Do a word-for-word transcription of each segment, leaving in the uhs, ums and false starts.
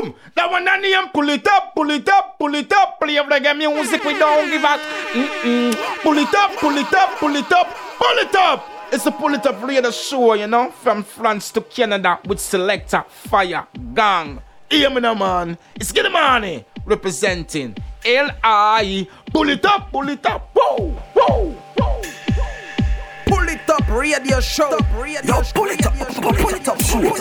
boom. That one I name, pull it up, pull it up, pull it up. Play of reggae music, we don't give a mm-mm. Pull it up, pull it up, pull it up, pull it up. It's a pull it up radio show, you know, from France to Canada with selector Fire Gang. Hear me now, man. It's Get the Money representing L I. Pull it up, pull it up, whoa, whoa, whoa. Pull it up, radio show. Yo, pull it up, pull it up, show.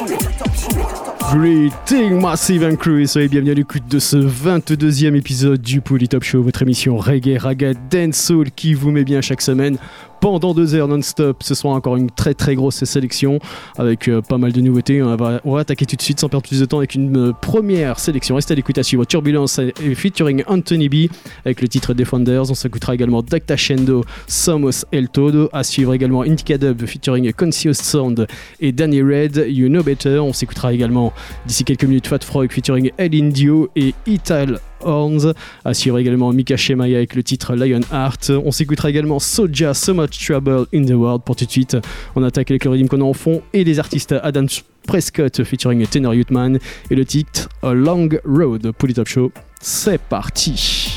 Greeting Massive and Crew et soyez bienvenus à l'écoute de ce vingt-deuxième épisode du Pull It Up Show, votre émission reggae, raga, dancehall qui vous met bien chaque semaine pendant deux heures non-stop. Ce soir encore une très très grosse sélection avec euh, pas mal de nouveautés. On va, on va attaquer tout de suite sans perdre plus de temps avec une euh, première sélection. Restez à l'écoute à suivre Turbulence et featuring Anthony B avec le titre Defenders. On s'écoutera également Docta Shendo, Somos El Todo. À suivre également Indica Dub featuring Conscious Sound et Danny Red, You Know Better. On s'écoutera également d'ici quelques minutes Fat Frog featuring El Indio et Ital Horns. À suivre également Mika Shemaya avec le titre Lionheart. On s'écoutera également Soulja, So Much Trouble in the World. Pour tout de suite, on attaque avec le rythme qu'on a en fond et les artistes Adam Prescott featuring Tenor Youthman et le titre A Long Road. Pull It Up Show, c'est parti.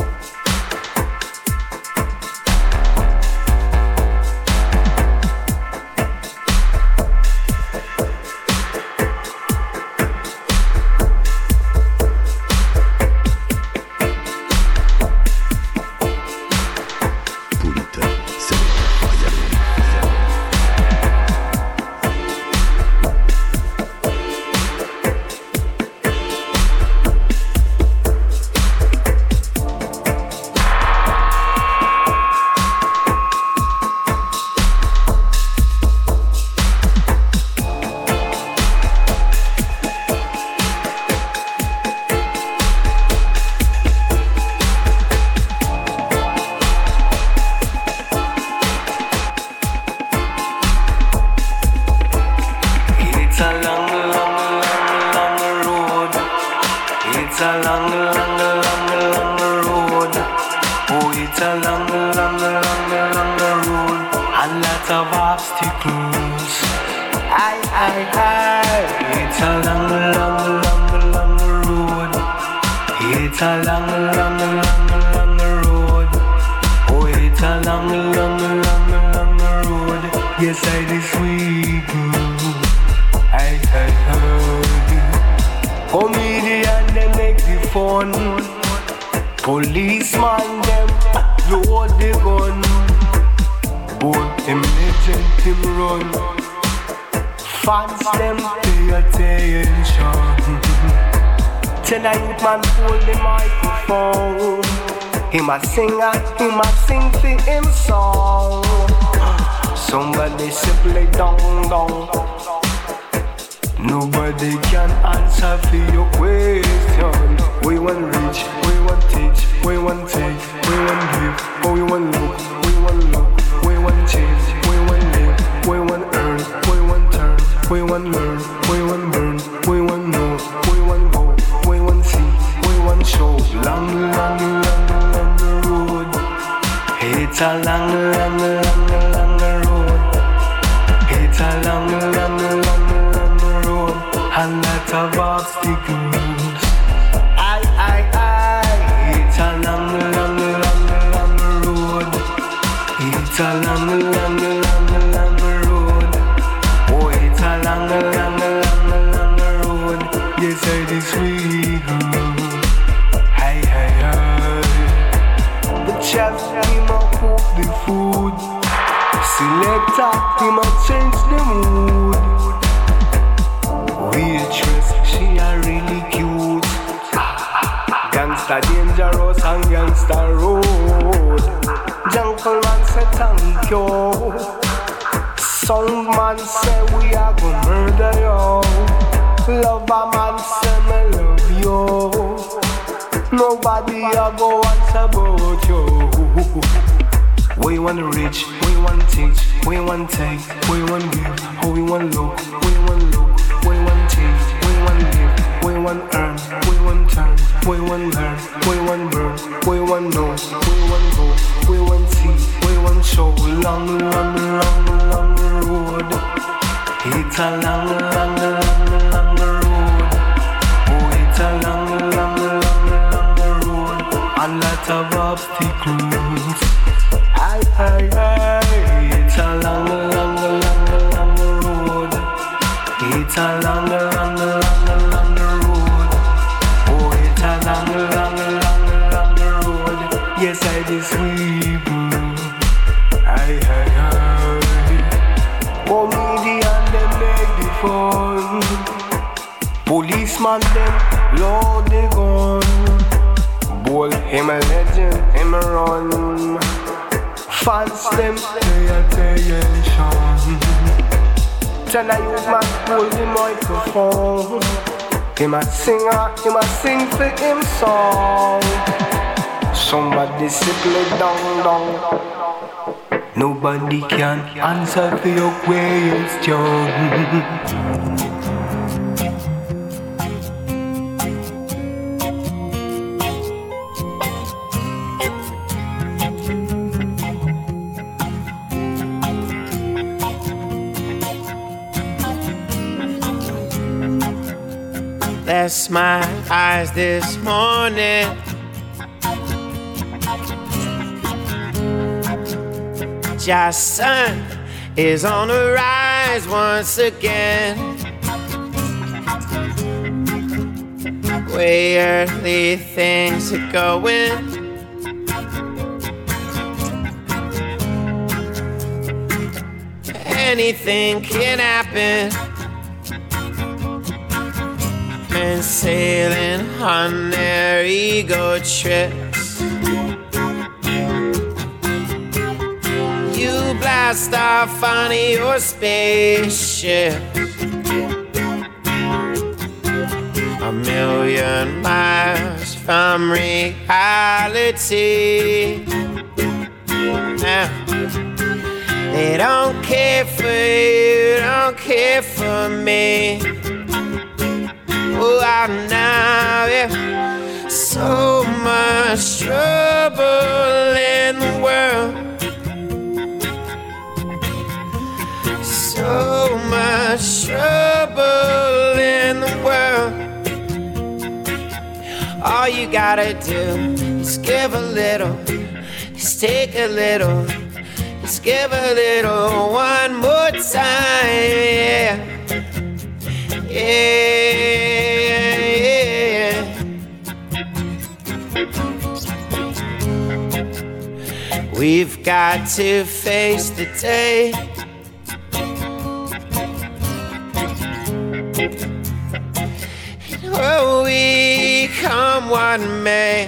Policeman them load the gun, both him legend him run. Fans them pay attention. Tonight man hold the microphone. Him a singer, him a sing for him song. Somebody simply down down. Nobody can answer for your question. We want reach, we want teach, we want take, we want give, oh we want look, we want look, we want change, we want live, we want earn, we want turn, we want learn, we want burn, we want know, we want go, we want see, we want show. Long, long, long, long road. It's a long, long, long, long road. It's a long, long, long, long road. A lot of obstacles. I, I, I. It's a long, long, long, long road. It's a long, long, long, long road. Oh, it's a long, long, long, long road. Yes, it is sweet. Hey, hey, hey. The chef, he might cook the food. Selector, he might change the mood. Waitress, she a really cute. Gangsta dangerous and gangsta road. Gentleman say thank you. Soundman say we are gonna murder you. Lover man say me love you. Nobody a go answer about you. We want rich, we want teach, we want take, we want give, oh we want look, we want look, we want change, we want live, we want earn, we want turn, we want learn, we want burn, we want know, we want go, we want see, we want show. Long, long, long, long road. It's a long, long, long, long road. rustic roots. Aye, aye, aye, it's a long, long, long, long road. It's a long, long, long, long road. Oh, it's a long, long, long, long road. Yes, I did sweep. Aye, aye, aye. Comedian, them make the fun. Policeman, them load the gun. Bull, him a legend, him a run. Fans, them pay attention. Then I use my hold the microphone. Him a singer, him a sing for him song. Somebody sit me down, down. Nobody can answer for your question. Bless my eyes this morning. Just sun is on the rise once again. Way early things are going. Anything can happen. Men sailing on their ego trips. You blast off on your spaceship. A million miles from reality. Now, they don't care for you, don't care for me. Oh, I know, yeah. So much trouble in the world. So much trouble in the world. All you gotta do is give a little, is take a little, is give a little one more time, yeah. Yeah, yeah. We've got to face the day. And oh, we come what may.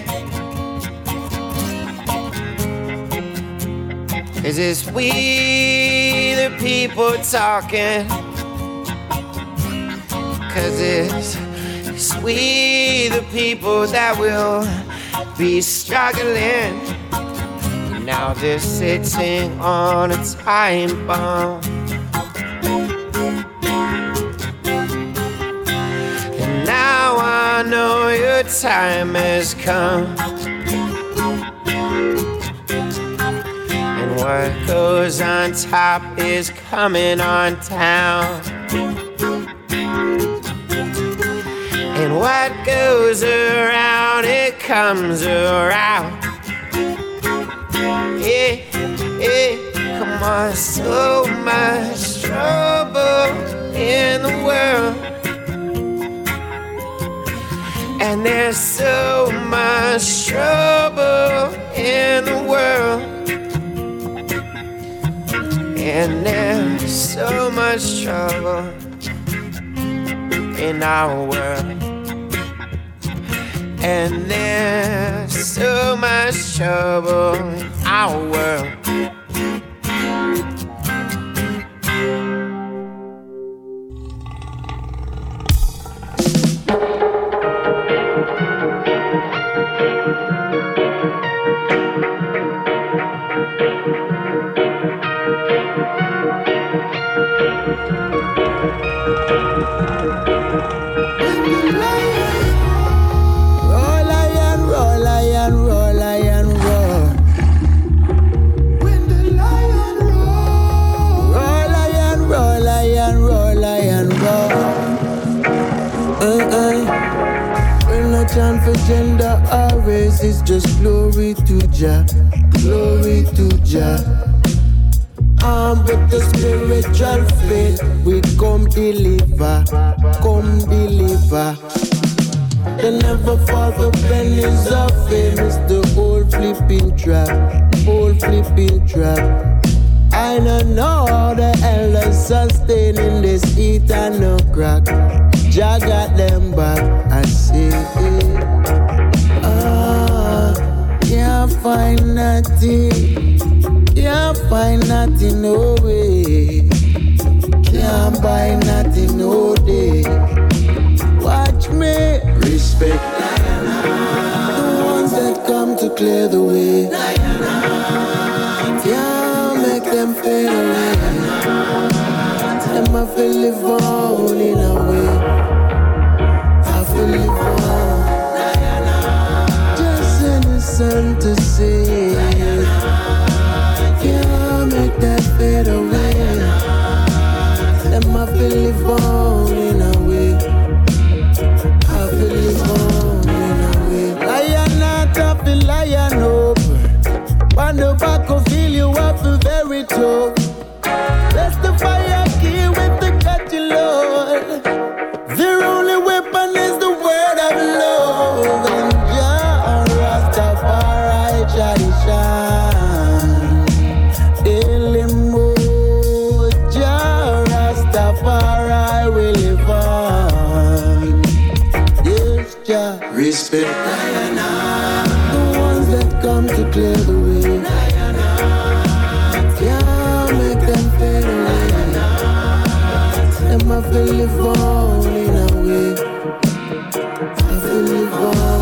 'Cause it's we the people talking. 'Cause it's, it's we the people that will be struggling. Now they're sitting on a time bomb. And now I know your time has come. And what goes on top is coming on town. And what goes around, it comes around. Yeah, yeah, come on, so much trouble in the world. And there's so much trouble in the world. And there's so much trouble in our world. And there's so much trouble in our world. chant for gender or race, it's just glory to Jah, glory to Jah. Um, but the spiritual faith, we come deliver, come deliver. They never fall for pennies of fame. It's the old flipping trap, old flipping trap. I don't know how the hell are sustaining this heat and no crack. Jah got them back, I say. Ah, can't find nothing, can't find nothing, no way. Can't buy nothing, no day. Watch me, respect the ones that come to clear the way. Can't make them fade away. Them I feel live on in a way. I feel live on. Just innocent to say. Can't make that fade away. Them I feel live on in a way. I feel live on in a way. Lion not up, the lion open. On the back of feel you up the very top. Bless the fire key with the catchy Lord. Their only weapon is the word of love. And Jah Rastafari tradition. Daily more Jah Rastafari will live on. Yes, Jah. Respect the ones that come to clear the way. I feel live on in a way. I feel live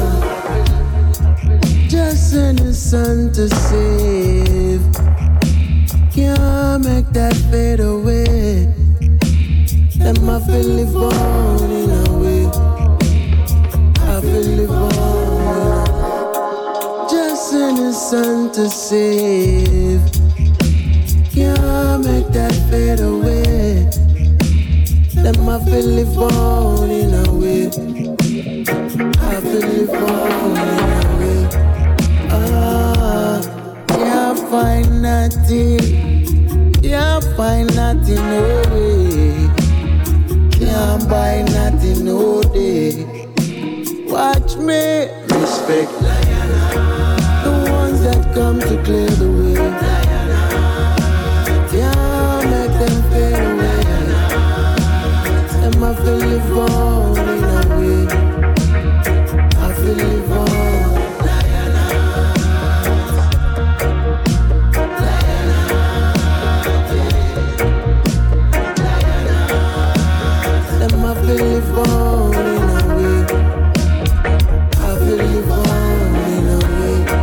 on. Just innocent to save. Can't make that fade away. Them I feel live on in a way. I feel live on. Just innocent to save. Can't make that fade away. Them I feel live on in a way. I feel live on in a way. Ah, can't find nothing, can't find nothing, no way. Can't buy nothing, no day. Watch me, respect the ones that come to clear the way. Can't make them fade away. I feel live on in a way. I feel live on. Them I feel live on in a way. I feel live on in a way.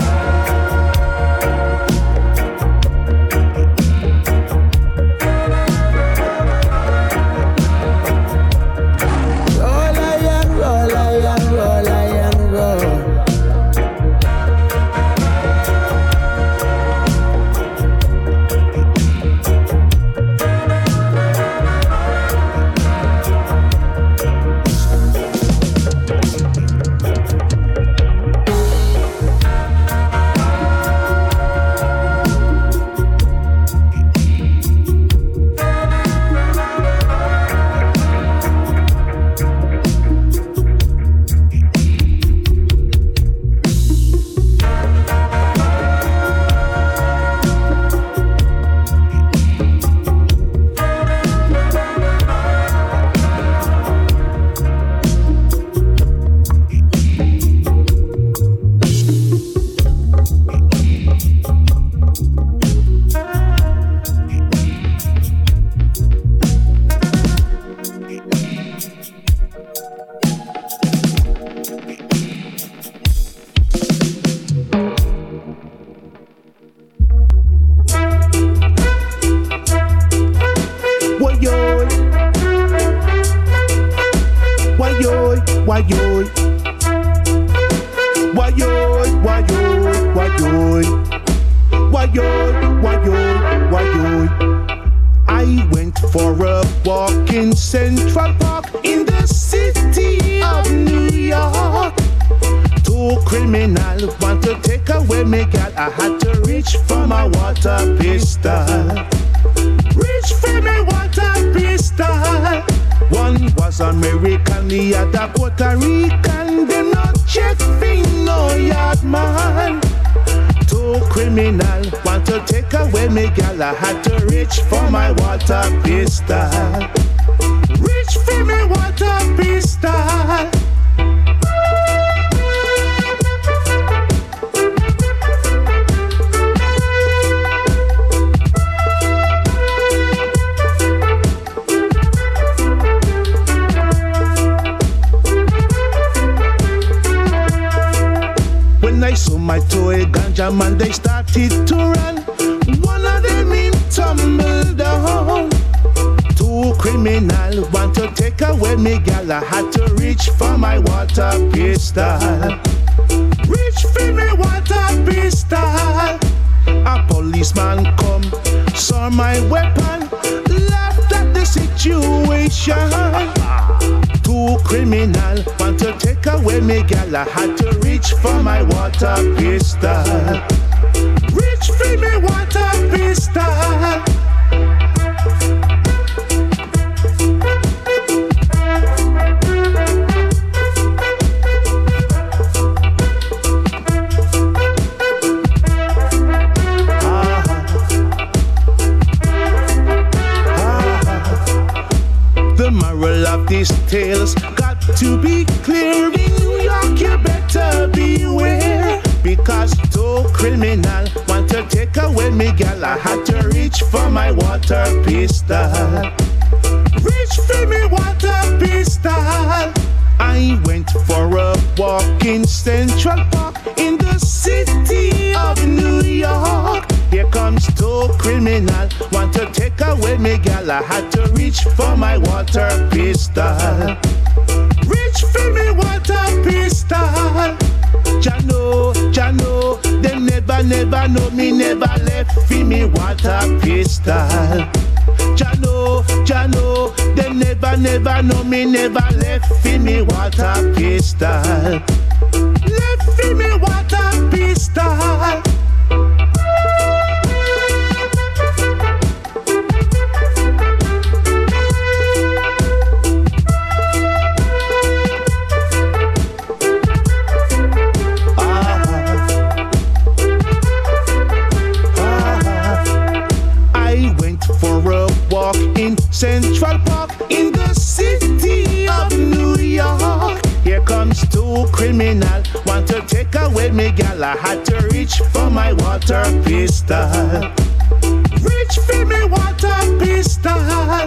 I went for a walk in Central Park in the city of New York. I had to reach for my water pistol. Reach for my water pistol. One was American, the other Puerto Rican. Them not check thing, no yard man. Two criminal want to take away me gal. I had to reach for my water pistol. Reach for my water pistol. I saw my toy ganja man, they started to run. One of them in tumble down. Two criminal want to take away me gal. I had to reach for my water pistol. Reach for me water pistol. A policeman come, saw my weapon, laughed at the situation. Two criminal want to take away me gal. I had to reach for my water pistol. Reach for me water pistol. These tales got to be clear. In New York you better beware, because two criminal want to take away me gal. I had to reach for my water pistol. Reach for me water pistol. I went for a walk in Central Park in the city of New York. Here comes two criminal want to take away me gal. I had to reach for my water pistol. Reach for me water pistol. Jano, Jano, they never, never know me, never left for me water pistol. Jano, Jano, they never, never know me, never left for me water pistol. Left for me water pistol. In Central Park in the city of New York. Here comes two criminal want to take away me gal. I had to reach for my water pistol. Reach for me water pistol.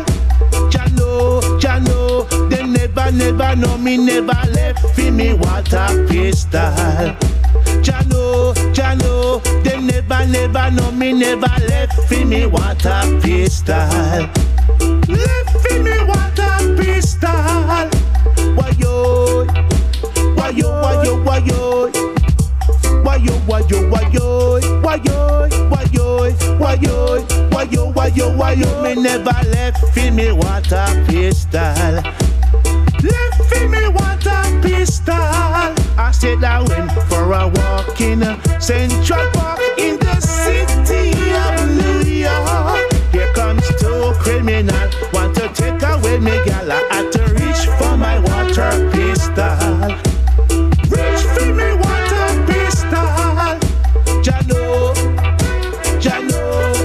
Jano, Jano, they never, never know me, never left for me water pistol. Jano, Jano, they never, never know me, never left for me water pistol. Left for me water pistol. Wayo, wayo, wayo, wayo, wayo, wayo, wayo, wayo, wayo, wayo, wayo, wayo, wayo. Me never left for me water pistol. Left for me water pistol. I said I went for a walk in Central Park in the city of New York. Here comes two criminal want to take away me gal. I had to reach for my water pistol. Reach for me water pistol. Jano, Jano,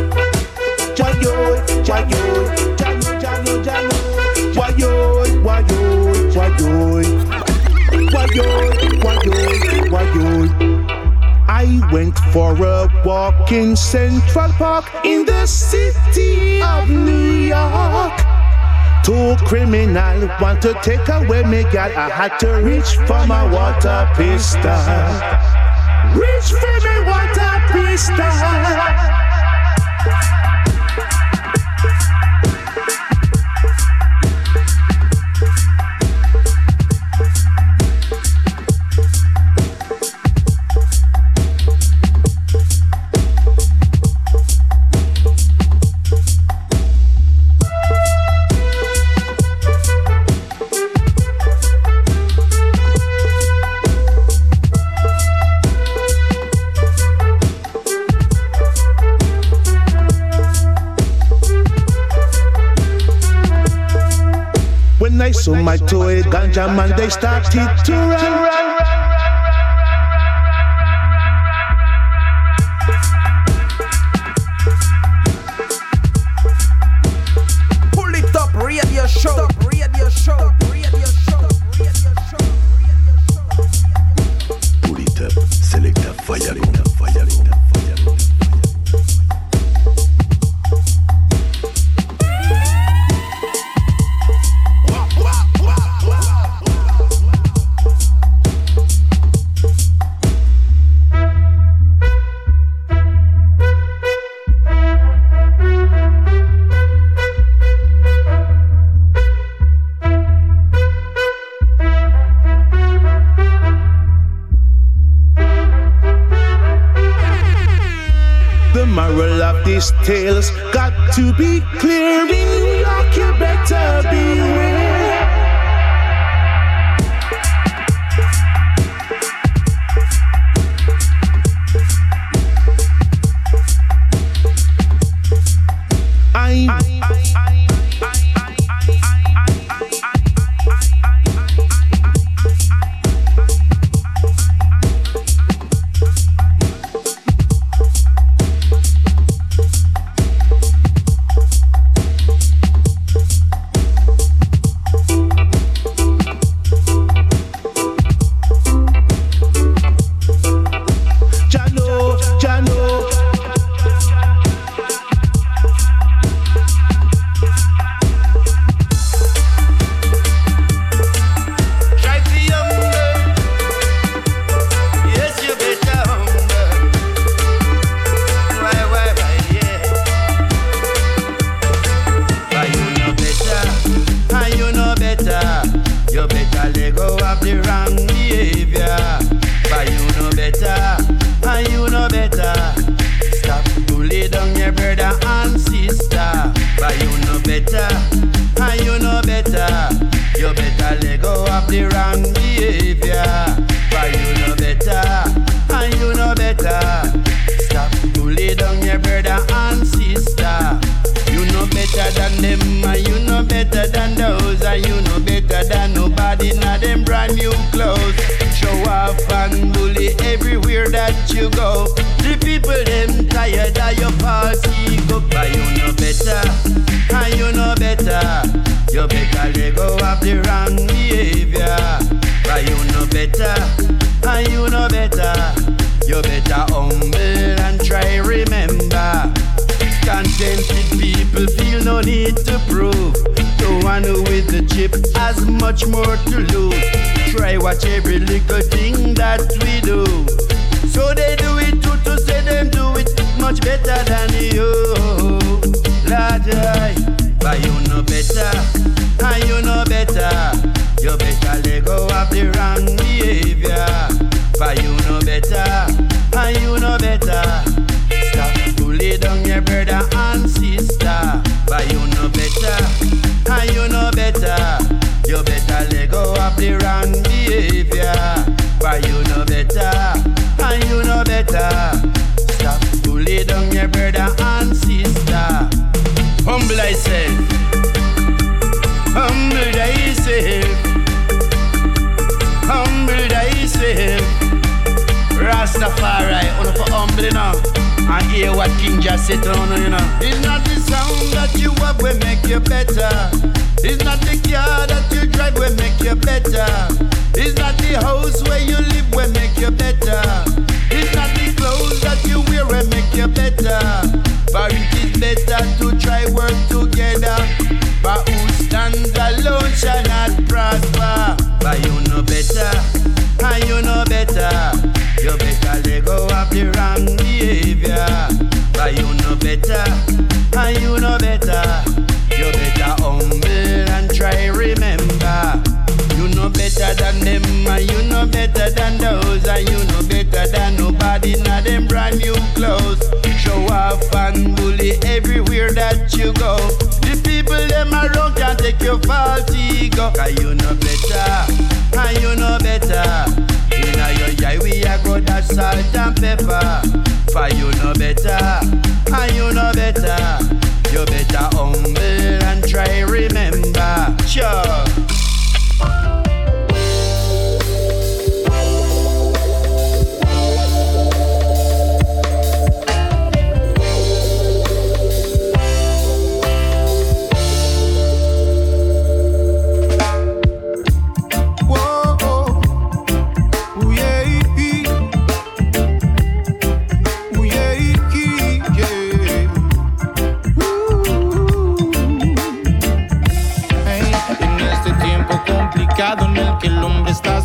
Jayo, Jayo, Jano, Jano, Jano, Wayo, Wayo, Wayo, Wayo, Wayo, Wayo. I went for a walk in Central Park in the city of New York. Two criminal want to take away me gal. I had to reach for my water pistol. Reach for me water pistol. to a ganja man, they started to run. Pull it up, radio show, radio show, radio show, radio show. Pull it up, selecta fire, fire, fire. These tales got to be clear. In New York, you better beware. I, I, I, I, salt and pepper. For you know better, and you know better. You better humble and try remember. Sure.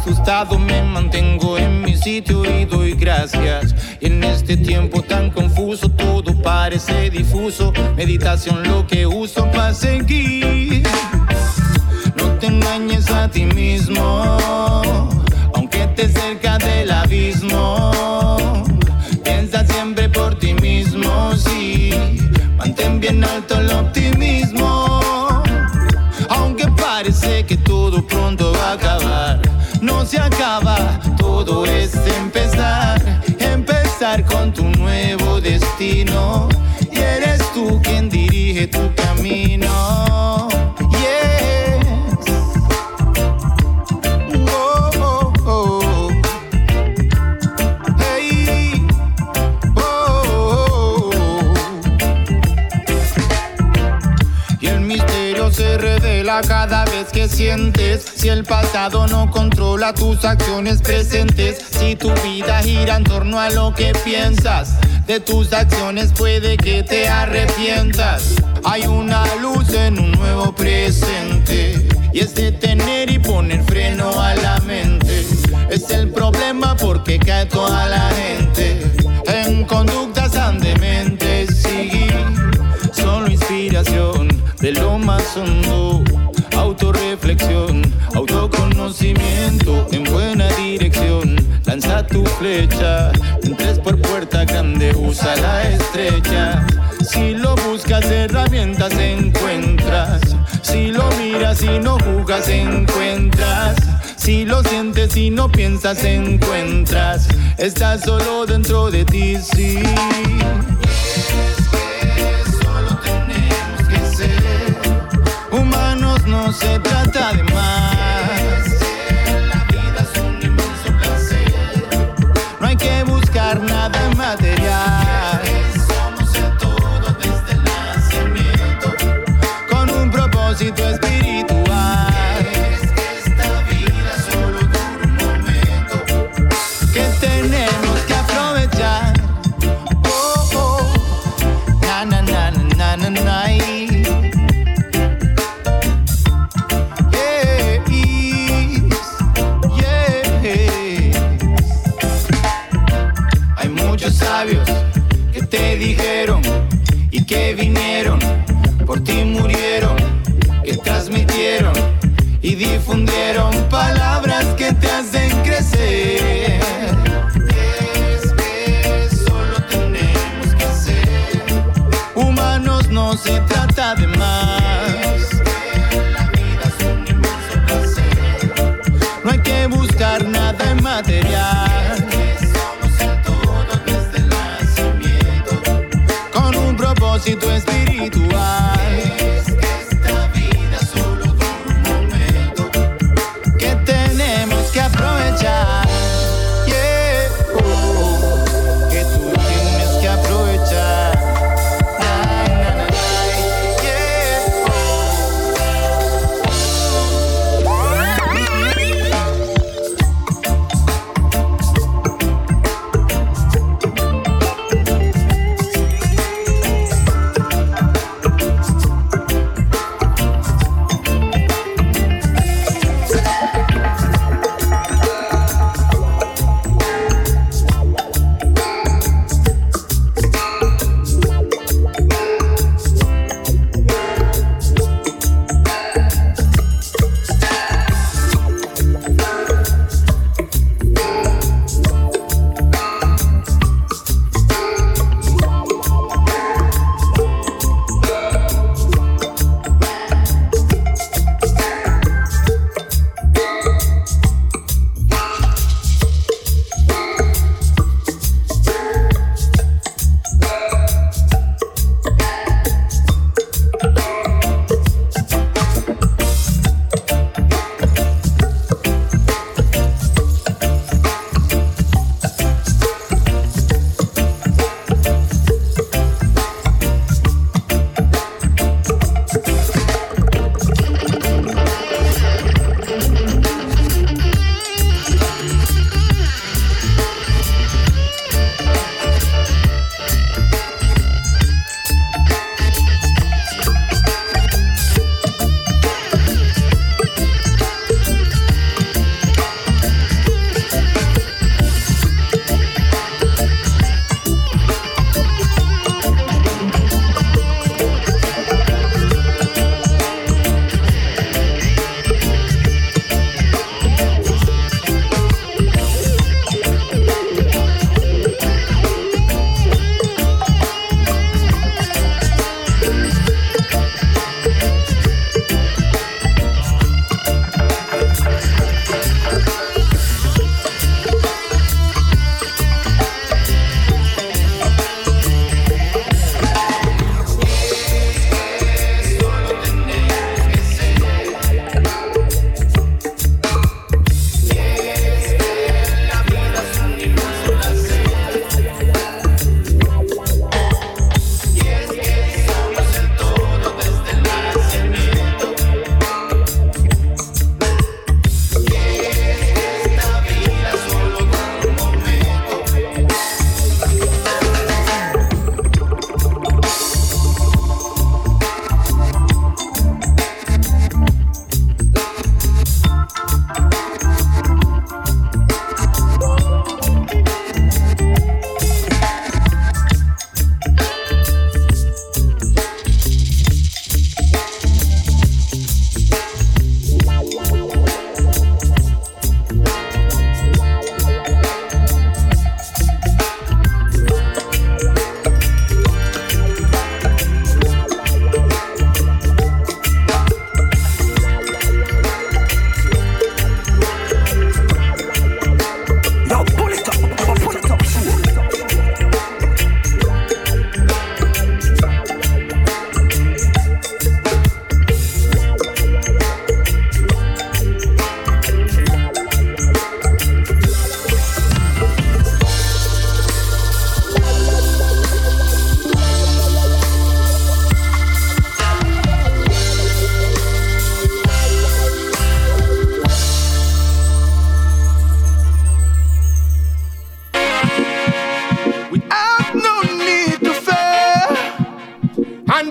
asustado me mantengo en mi sitio y doy gracias. Y en este tiempo tan confuso todo parece difuso. Meditación lo que uso para seguir. No te engañes a ti mismo, aunque estés cerca del abismo. Piensa siempre por ti mismo, sí. Mantén bien alto el optimismo. Aunque parece que todo pronto va a acabar, no se acaba, todo es empezar. Empezar con tu nuevo destino. Y eres tú quien dirige tu camino. Yes. Oh, oh, oh. Hey. Oh, oh, oh. Y el misterio se revela cada vez que sientes. Si el pasado no controla tus acciones presentes, si tu vida gira en torno a lo que piensas, de tus acciones puede que te arrepientas. Hay una luz en un nuevo presente, y es detener y poner freno a la mente. Es el problema porque cae toda la gente en conductas tan dementes. Sí, solo inspiración de lo más hondo. Autorreflexión, autoconocimiento en buena dirección. Lanza tu flecha, entres por puerta grande, usa la estrecha. Si lo buscas, herramientas encuentras. Si lo miras y no juzgas, encuentras. Si lo sientes y no piensas, encuentras. Estás solo dentro de ti, sí. Humanos no se trata de más. La vida es un inmenso placer. No hay que buscar nada material. Somos el todo desde el nacimiento, con un propósito espiritual. Es que esta vida solo dura un momento, que tenemos que aprovechar. Oh, oh. Na, na, na, na, na, na, na. Sabios que te dijeron y que vinieron, por ti murieron, que transmitieron y difundieron palabras que te hacen crecer. Es que solo tenemos que ser humanos, no se trata de más. La vida es un inmenso placer. No hay que buscar nada en material. Propósito espiritual. Es que esta vida solo dura un momento, que tenemos que aprovechar. Yeah, oh, que tú tienes que aprovechar. Ay, na, na, na, yeah, oh.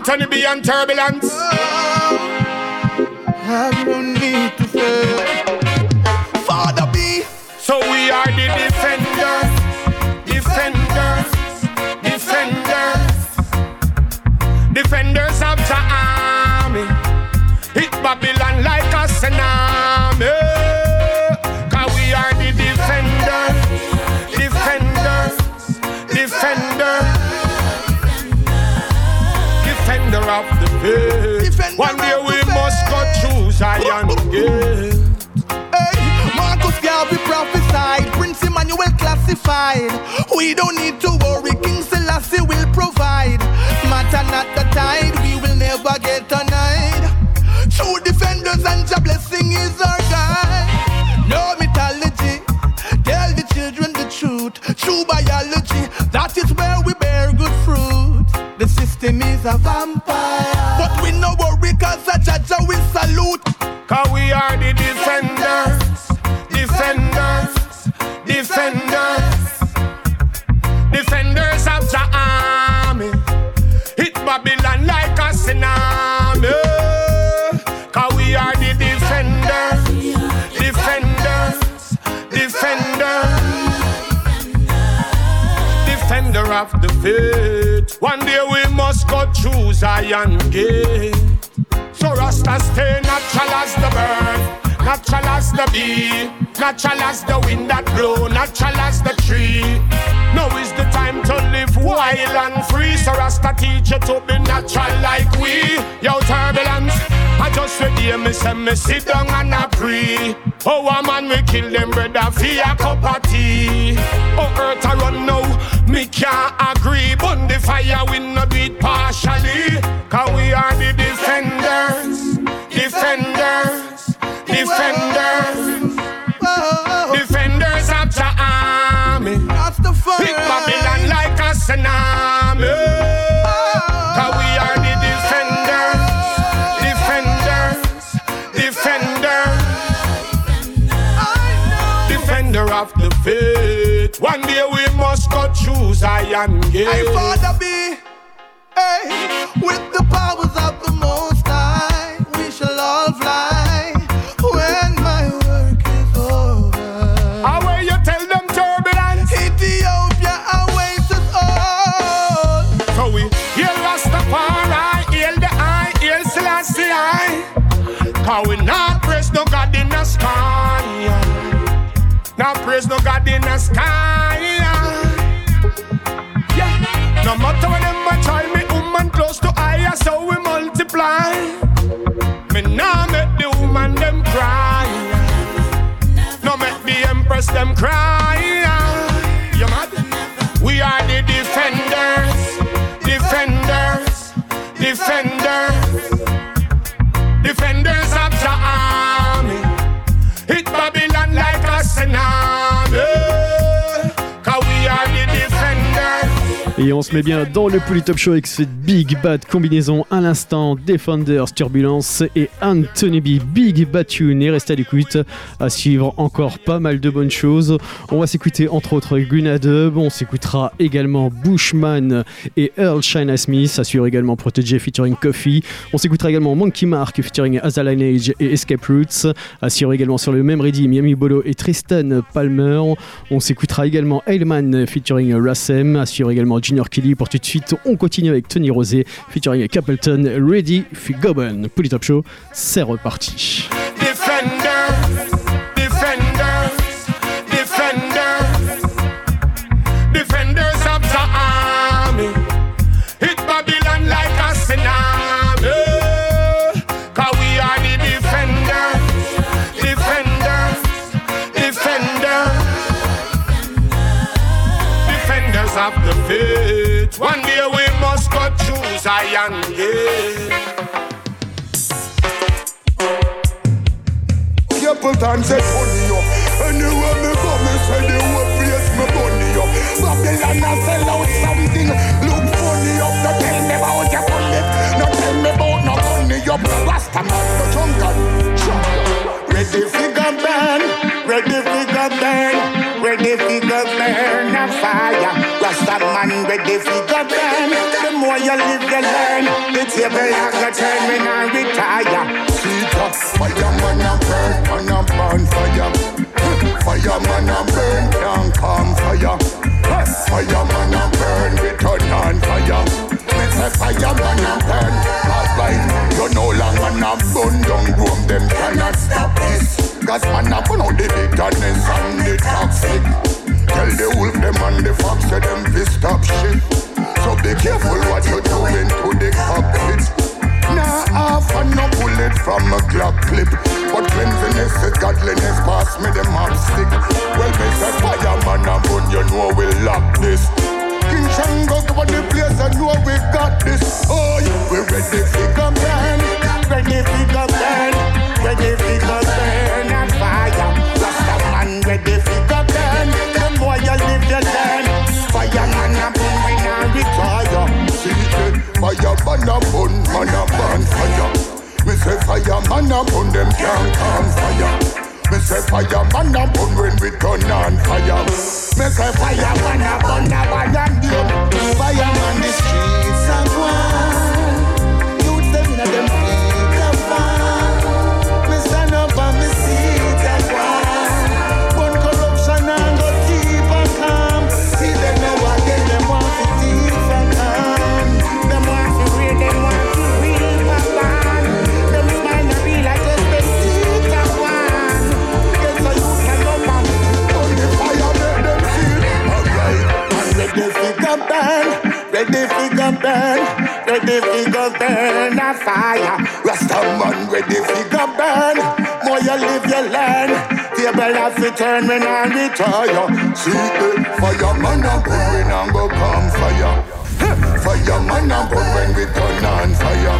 Anthony B and Turbulence. Have no need to fear. Father B. So we are the defenders, defenders, defenders, defenders of the army. Hit Babylon like a tsunami. Cause we are the defenders, defenders, defenders, defender of the faith. One day we must go through Zion Gate. Hey, Marcus Garvey prophesied, Prince Emmanuel classified. We don't need to worry, King Selassie will provide. Matter not the tide, we will never get denied. True defenders and your blessing is our guide. No mythology, tell the children the truth. True biology, that is where we bear good fruit. The system is a vampire, but we no worry cause a Jaja will salute. Cause we are the defenders, defenders, defenders, defenders of the army. Hit Babylon like a tsunami. Cause we are the defenders, defenders, defenders, defender of the faith. One day we must go through Zion Gate. So Rasta stay natural as the bird, natural as the bee, natural as the wind that blow, natural as the tree. Now is the time to live wild and free. So Rasta teach you to be natural like we. Yo, Turbulence, I just read here, me say me sit down and I pray. Oh, a man we kill them brother for a cup of tea. Oh, earth a run now, me can't agree. Burn the fire, we not do it partially. Cause we are the defenders, defenders, defenders, defenders of the army. Hit Babylon like a tsunami. Cause we are the defenders, defenders, defenders, defender of the faith. One day we must go through Zion Gate. Hey, Father B, hey, with the powers of the Most High, we shall all fly when my work is over. How will you tell them, Turbulence? Ethiopia awaits us all. So we hail Rastafari, hail the eye, hail Selassie I. Cause we not praise no God in the sky. Not praise no God in the sky. Yeah. No matter when them a try me, woman close to eye, so we multiply. Me nah make the woman them cry. No make the empress them cry. You mad? We are the defenders, defenders, defenders, defenders of the army. Hit Babylon like a tsunami. Cause we are the defenders. Et on se met bien dans le Polytop Show avec cette Big Bad combinaison à l'instant, Defenders, Turbulence et Anthony B. Big Bad Tune. Et restez à l'écoute, à suivre encore pas mal de bonnes choses. On va s'écouter entre autres Gunadub, on s'écoutera également Bushman et Earl Shina Smith, assure également Protégé featuring Coffee. On s'écoutera également Monkey Mark featuring As a Lineage et Escape Roots, assure également sur le même ready Miami Bolo et Tristan Palmer. On s'écoutera également Ailman featuring Rassem, assure également Junior Kelly. Pour tout de suite, on continue avec Tony Rosé featuring Capleton, Ready for Goben. Polytop Show, c'est reparti. Defenders, defenders, defenders, defenders of the army. Hit Babylon like a tsunami. Cause we are the defenders, defenders, defenders, defenders of the faith. One day we must go through Zion Gate. Capleton said funny up. Anywhere me go, me say the whole place me bunny up. Babylon a sell out something. Look funny up. Don't tell me about your bullet. Don't tell me about no money up. Rasta man, no jungle. Ready figure burn. Ready figure burn. Ready figure burn a fire. Rasta Rasta man ready fi go burn. The more you live, you learn. The table a go turn when I retire. Sweet up, fireman a burn, man a burn fire. Fireman a burn, can't calm fire. Fireman a burn, we turn on fire. Me say fireman a burn, alright. You no longer na burn down room, them cannot stop this. Cause man a burn out the bitterness and the toxic. Tell the wolf them and the fox say them fi stop shit. So be careful what you doing to the cockpit. Nah, half and no bullet from a Glock clip. But cleanliness is godliness, pass me the mop stick. Well, me say fireman and bun, you know we lock this. King Shango go on the place, I know we got this. Oh, yeah, we ready fi go burn, ready fi go burn, ready fi go burn and fire. Rasta man ready fi go burn. The more you live, you learn. Fireman and bun, we now retire. See it, fireman and bun, man a burn fire. Me say fireman and bun, them can't calm fire. Me say fireman a bun when we turn on fire. Me say fireman a bun a bun and you. Fireman the streets are one. Youth them inna them feet are fun. Me stand up and me seat at one. Bun corruption and go keep a calm. See them now again, them want to thief and calm. Them want to read, them want to read a ban. Them smile and be like a seat at one. Get so you can go back. Burn the fire, make them see. Alright, and ready fi go burn, ready fi go burn, ready fi go burn a fire. Rasta man ready fi go burn. More you live, you learn. Table have to turn when I retire. See the fireman a burn when I go come fire. Fireman a burn when we turn on fire.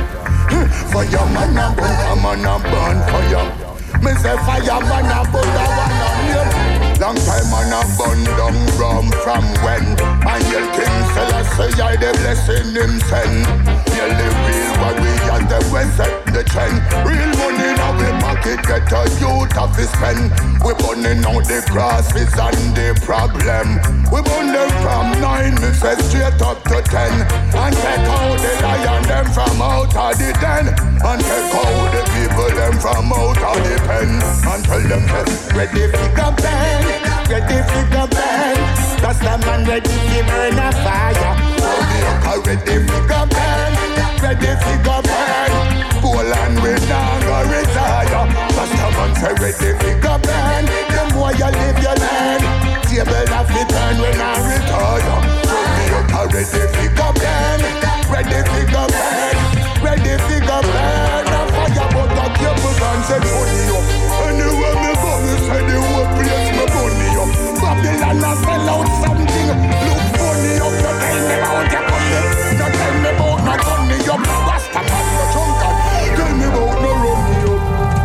Fireman a burn, come on a burn fire. Me say fireman a burn, a one on you. Long time man a burn down rum from when. And yell King Selassie I the blessing him send. Yell the real warriors them we set the trend. Real money now we pocket get a youth of his pen. We burning out the crosses and the problem. We burn them from nine, me say straight up to ten. And take out the lion them from out of the den. And take out the people them from out of the pen. And tell them to ready fi go burn, ready fi go burn. That's the man ready fi burn a fire. Oh, the uncle ready fi go burn, ready fi go burn. Poland we now go retire. That's the man say ready fi go burn. The more you live you learn. Table have to turn when I retire. So the uncle ready fi go burn, ready fi go burn, ready fi go burn. A fire but a cable and say money up. Anyway me go me say the whole place me money up. Babylon a sell out something. Look funny up. You tell me about your money. You tell me about my money up. Rasta man no drunken. Tell me about no rummy up.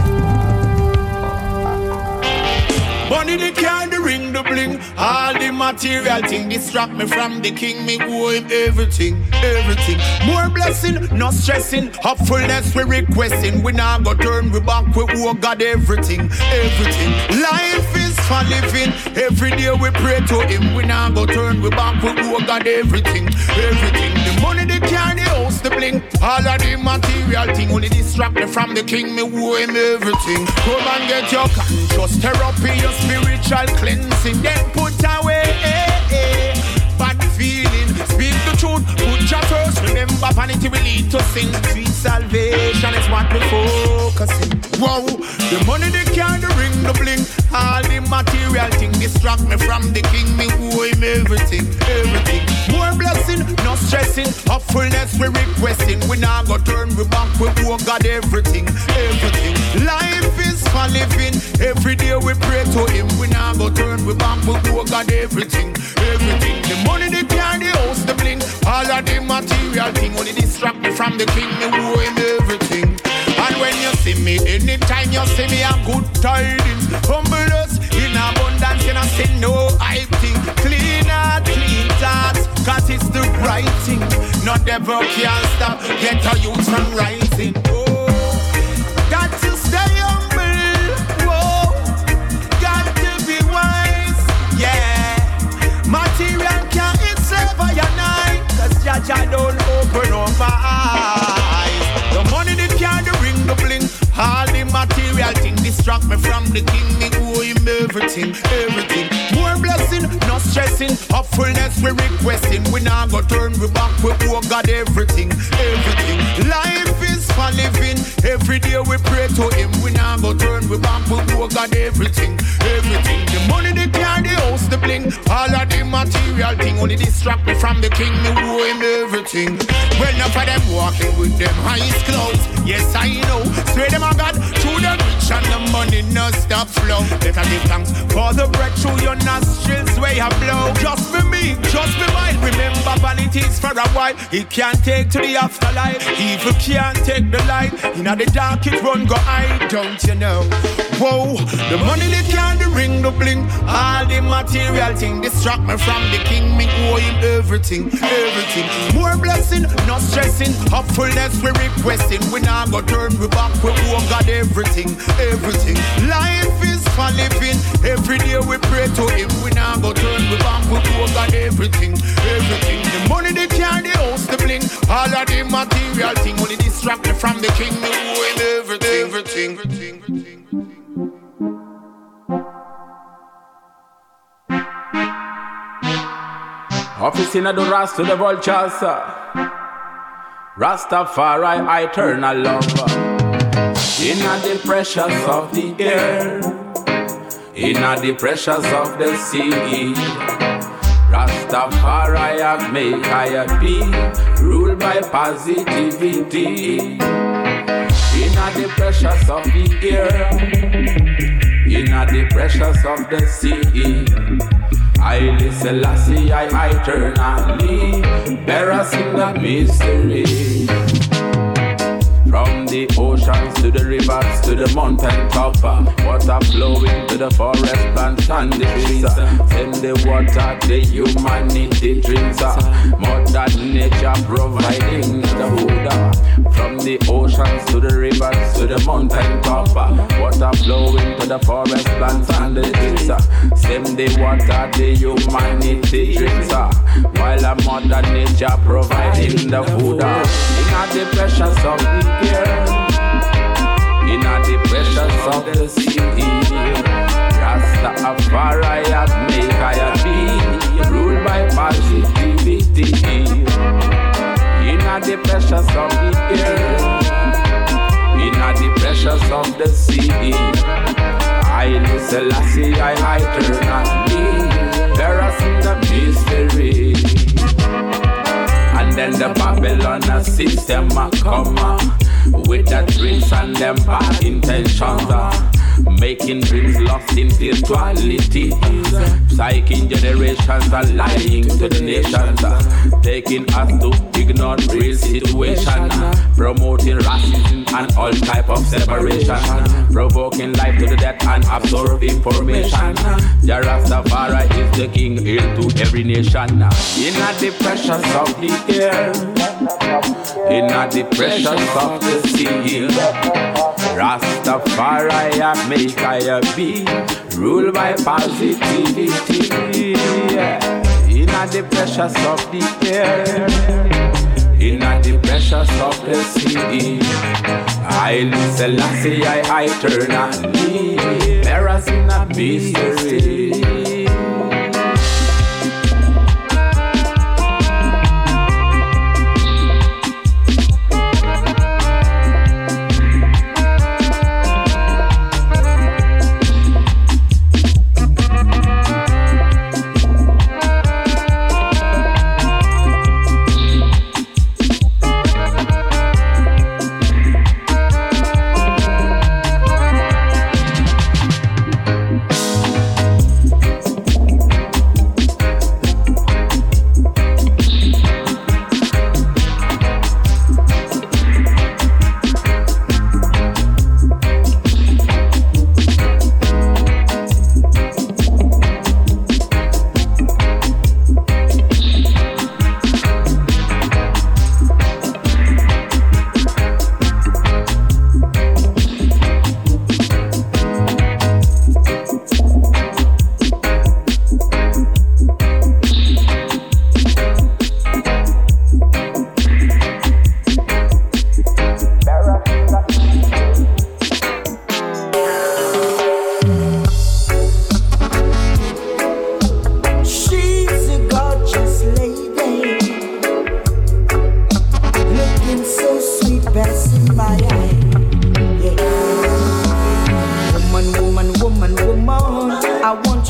Money the car, the ring, the bling. All the material thing distract me from the king. Me owe him everything, everything. More blessing, no stressing. Hopefulness we requesting. We now go turn we back, we owe God everything, everything. Life is for living. Every day we pray to him. We now go turn we back, we owe God everything, everything. The money, the car, the house, the bling. All of the material thing only distract me from the king. Me owe him everything. Come and get your conscious therapy, your spiritual cleansing. Then put away eh, eh, bad feeling. Speak the truth, put your first. Remember vanity will lead to sin. Sweet salvation is what we focusing. Wow, the money, the car, the ring, the bling. All the material thing distract me from the king. Me owe him everything, everything. More blessing, no stressing. Hopefulness we requesting. We now go turn we back, we owe God everything, everything. Life is for living. Every day we pray to him. We now go turn we back, we owe God everything, everything. The money, the car, the house, the bling. All of the material thing only distract me from the king. Me owe him everything. And when you see me, anytime you see me, I'm good tidings. Humble us in abundance, you know, say no hype thing. Clean heart, clean thoughts, cause it's the right thing. Not ever can stop, get a youth from rising. Oh, got to stay humble, whoa. Got to be wise, yeah. Material can't itself me from the king, me owe him everything, everything. More blessing, no stressing, upfulness we requesting. We now go turn we back, we owe God everything, everything. Life is for living, every day we pray to him. We now go turn we back, we owe God everything, everything. The money, the car, the house, the bling, all of the material thing only distract me from the king, me owe him everything. Well, enough of them walking with them eyes closed. Yes, I know. Swear them a God to the rich and the money no stop flow. Let us give thanks for the breath through your nostrils where you blow. Just be me, just be mine. Remember vanities for a while. It can't take to the afterlife. Evil can't take the light. In the dark it run go hide, don't you know? Whoa, the money they can't, the ring, the bling, all the material thing distract me from the king. Me owe him everything, everything. More blessing, no stressing, upfulness we requesting. We now go turn we back, we owe God everything, everything. Life is for living, every day we pray to him. We now go turn we back, we owe God everything, everything. The money they carry, the house, the bling, all of the material thing only distract me from the king. Me owe him everything, everything, everything, everything. Office in the Ras to the vultures, Rastafari, eternal lover. In the pressures of the air, in the pressures of the sea, Rastafari have made I be ruled by positivity. In the pressures of the air, in the pressures of the sea, I listen, Lassie, I eternally bear us in the mystery. From the oceans to the rivers to the mountain top, water flowing to the forest plants and the trees. Send the water the humanity drinks. Mother nature providing the food. From the oceans to the rivers to the mountain top, water flowing to the forest plants and the trees. Send the water the humanity drinks. While a mother nature providing the food. In the precious of the air, in the pressures of the sea, Rastafari have made I be ruled by positivity. In the pressures of the air, in the pressures of the sea, I listen, Lassie, I eternally bear us in the mystery. And then the Babylon system come with the dreams and them bad intentions, making dreams lost in spirituality, psyching generations and lying to the nations, taking us to ignore real situation, promoting racism and all type of separation, provoking life to the death and absorb information. The Rastafari is the king, hail to every nation. In the pressures of the air, in the pressures of the sea, Rastafari have make I be ruled by positivity. In the pressures of the air, in the pressures of the sea, I listen, Lassie, I eternally bear us in a mystery.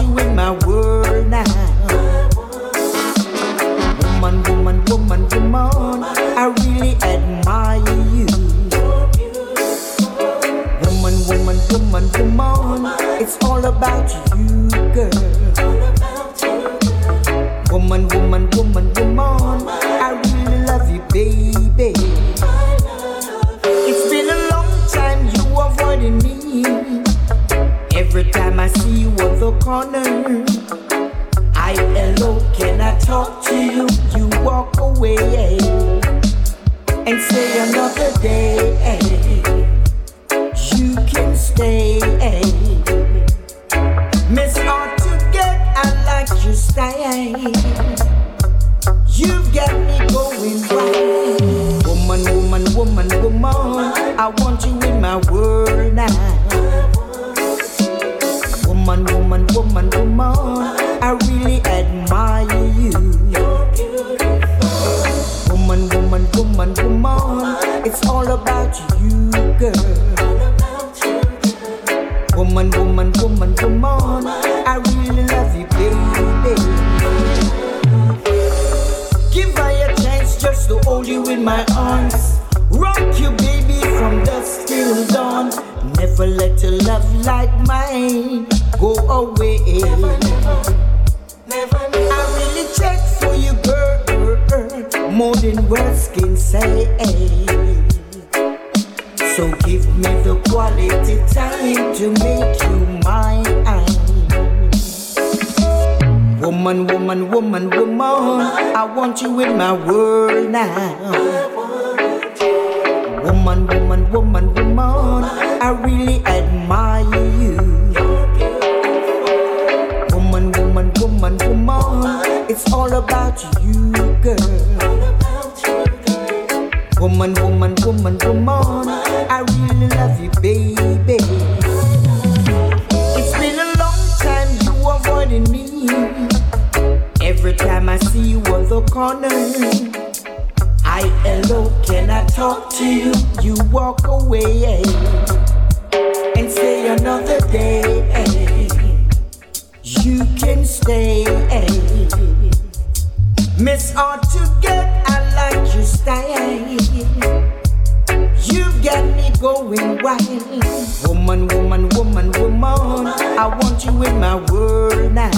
you in my world now. Woman, woman, woman, woman, I really admire you. Woman, woman, woman, woman, it's all about you, girl. Woman, woman, woman, woman, I really love you, baby. It's been a long time you avoiding me. Every time I see you on the corner, I hello, can I talk to you? You walk away and say another day. You can stay. Miss Hard to Get, I like your style. You've got me going wild. Woman, woman, woman, woman, I want you in my world now. Woman, woman, woman, woman, I really admire you. Woman, woman, woman, woman, it's all about you, girl. Woman, woman, woman, woman, I really love you, baby. Give her a chance just to hold you in my arms. Rock you, baby, from dusk till dawn. Never let a love like mine go away. I really check for you, girl, more than words can say. So give me the quality time to make you mine. Woman, woman, woman, woman, I want you in my world now. Woman, woman, woman, woman, I really admire you. Woman, woman, woman, woman, it's all about you, girl. Woman, woman, woman, woman, I really love you, baby. It's been a long time you avoiding me. Every time I see you on the corner, I hello, can I talk to you? You walk away and say another day. You can stay. Miss Hard to Get, I like your style. You've got me going wild. Woman, woman, woman, woman, I want you in my world now.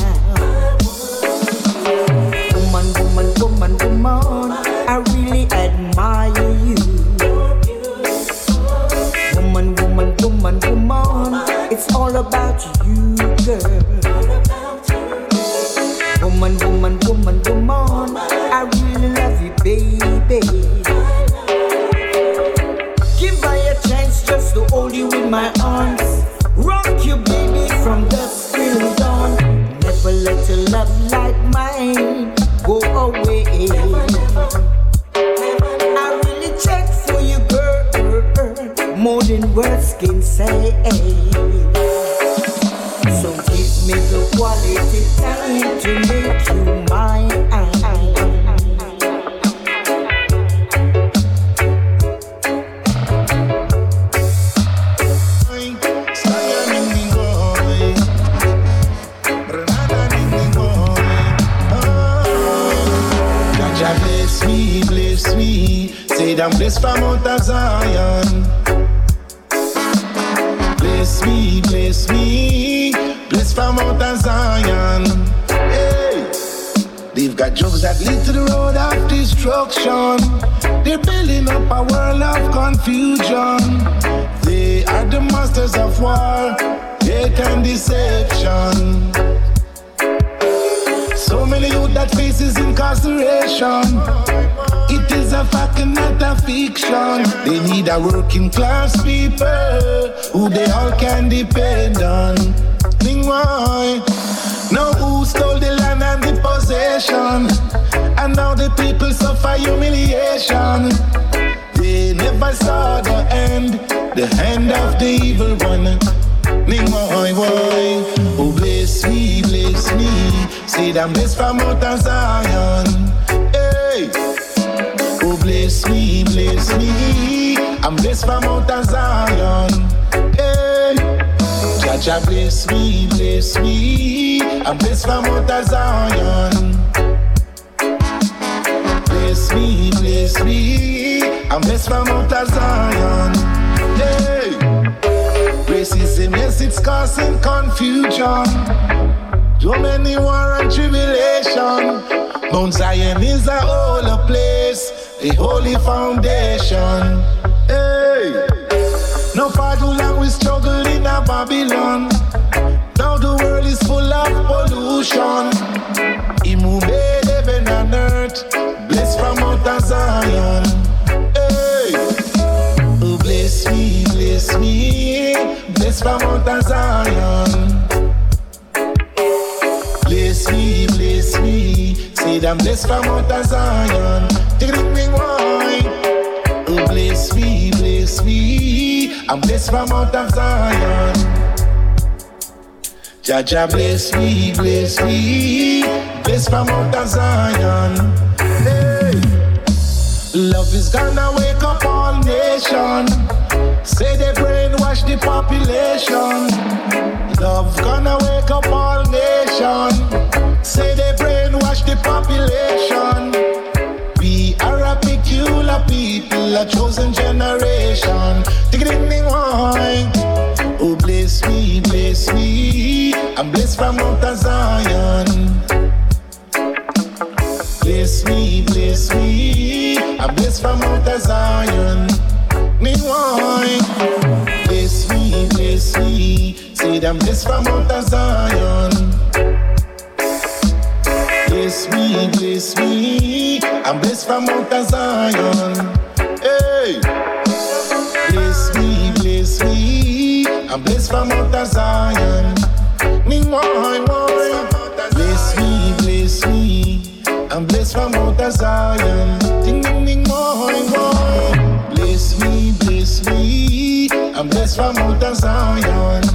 Woman, woman, woman, woman, I really admire you. Woman, woman, woman, woman, it's all about you, girl. Woman, woman, woman, woman, I really love you, baby. Give her a chance just to hold you in my arms. Rock you, baby, from dusk till dawn. Never let a love like mine go away. I really check for you, girl, more than words can say. So give me the quality time to make you mine. Bless me, bless me, say I'm blessed from Mount of Zion. Bless me, bless me, blessed from Mount of Zion. Hey, they've got drugs that lead to the road of destruction. They're building up a world of confusion. They are the masters of war, hate and deception. So many youth that faces incarceration. It is a fact and not a fiction. They need a working class people who they all can depend on. Think why? Now who stole the land and the possession? And now the people suffer humiliation. They never saw the end, the end of the evil one. Ning why, why? Oh bless me, bless me. Say that I'm blessed from Mount of Zion. Hey. Oh bless me, bless me. I'm blessed from Mount of Zion. Hey. Jah bless me, bless me. I'm blessed from Mount Zion. Bless me, bless me. I'm blessed from Mount Zion. Hey, racism, yes, it's causing confusion. Too many war and tribulation. Mount Zion is a holy place, a holy foundation. Hey, no far too long we struggle in a Babylon. Now the world is full of pollution. He who made heaven and earth, blessed from Mount Zion. Hey, oh bless me, bless me, blessed from Mount Zion. Bless me, bless me, say I'm blessed from Mount Zion. Take the ring wine. Oh bless me, bless me, I'm blessed from Mount Zion. Jah Jah bless me, bless me, blessed from Mount Zion. Hey, love is gonna wake up all nation. Say they brainwash the population. Love gonna wake up all nation. Say they brainwash the population. We are a peculiar people, a chosen generation. Take it in the wine. Oh bless me, bless me, I'm blessed from Mount Zion. Bless me, bless me, I'm blessed from Mount Zion. Me wine. Bless me, bless me, say I'm blessed from Mount Zion. Bless me, bless me, I'm blessed from Mount Zion. Hey, bless me, bless me, I'm blessed from Mount Zion. Me wine, wine. Bless me, bless me, I'm blessed from Mount Zion. Ding ding ding, wine, wine. Bless me, bless me, I'm blessed from Mount Zion.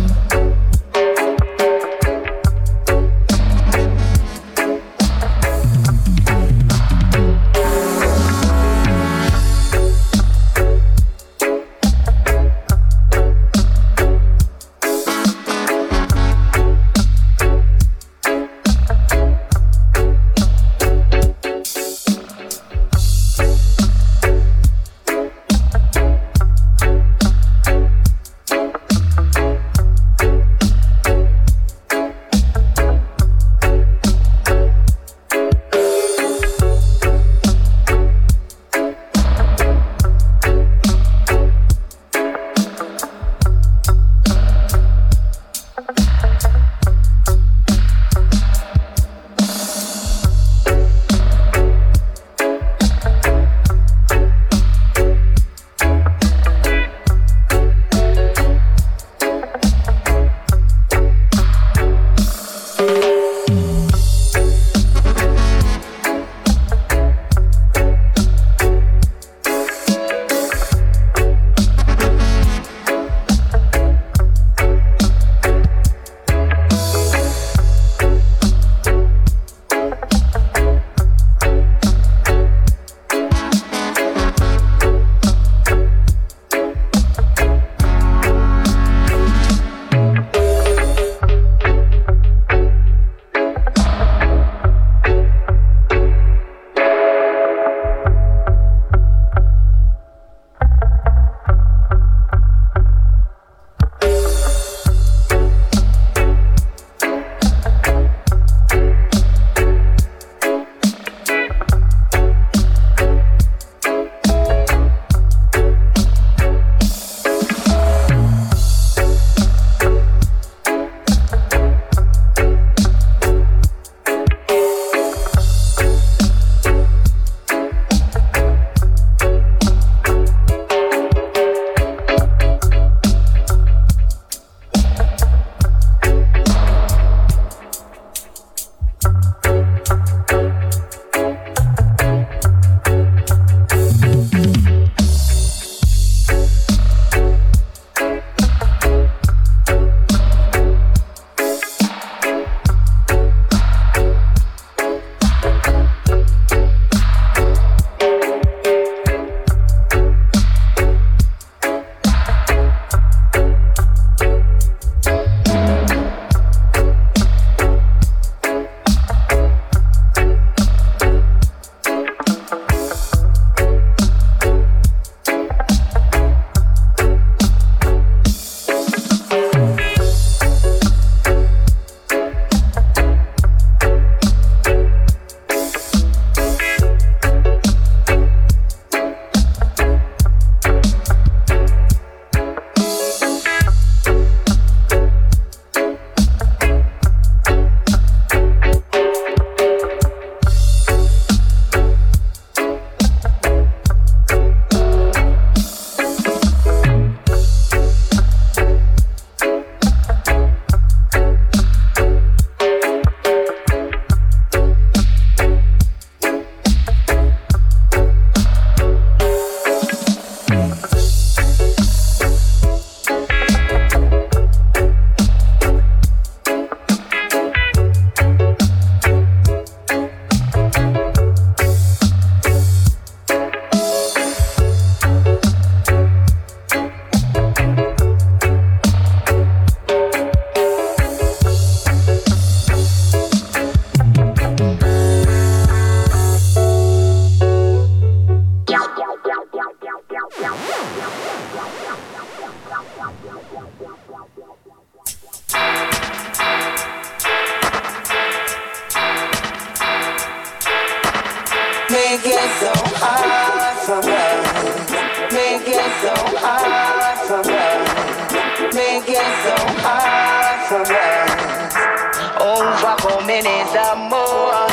make it so hard for us. Make it so hard for us. Make it so hard for us. Overcoming is a more.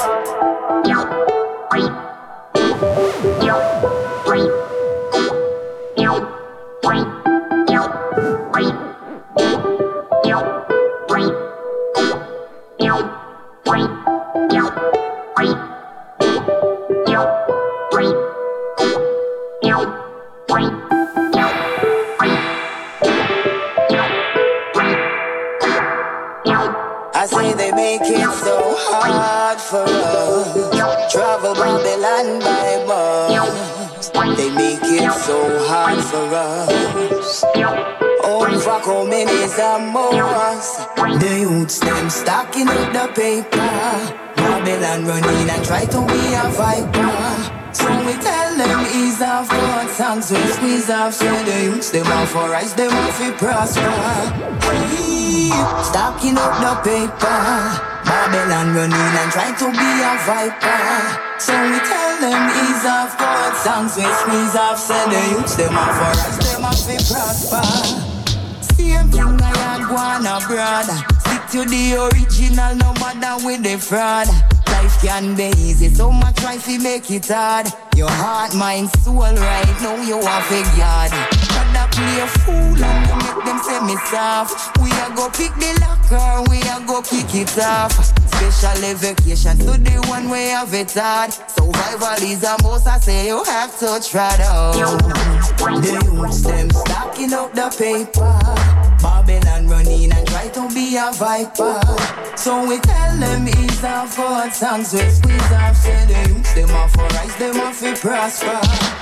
I say they make it so hard for us. Travel Babylon by bus. They make it so hard for us. Overcoming is a must. The youths them stacking up the paper. Babylon running and try to be a viper. So we tell them ease off God songs we squeeze off. So the youths them off for rise, them off for prosper. Hey, stacking up the paper. Babylon running and try to be a viper. So we tell them ease off God songs we squeeze off. So the youths them off for rise, them off for prosper. Same thing I had one abroad. Stick to the original, no matter with the fraud. Life can be easy, so much try to make it hard. Your heart, mind, soul, right now you are figured. Rather play a fool and you make them say me soft. We a go pick the locker, we a go kick it off. Special vacation to the one way of it hard. Survival is a most, I say you have to try though. The youths them stacking up the paper. Babylon running and try to be a viper. So we tell them ease off God songs we squeeze off. Say the youths them off for rise, them off for prosper.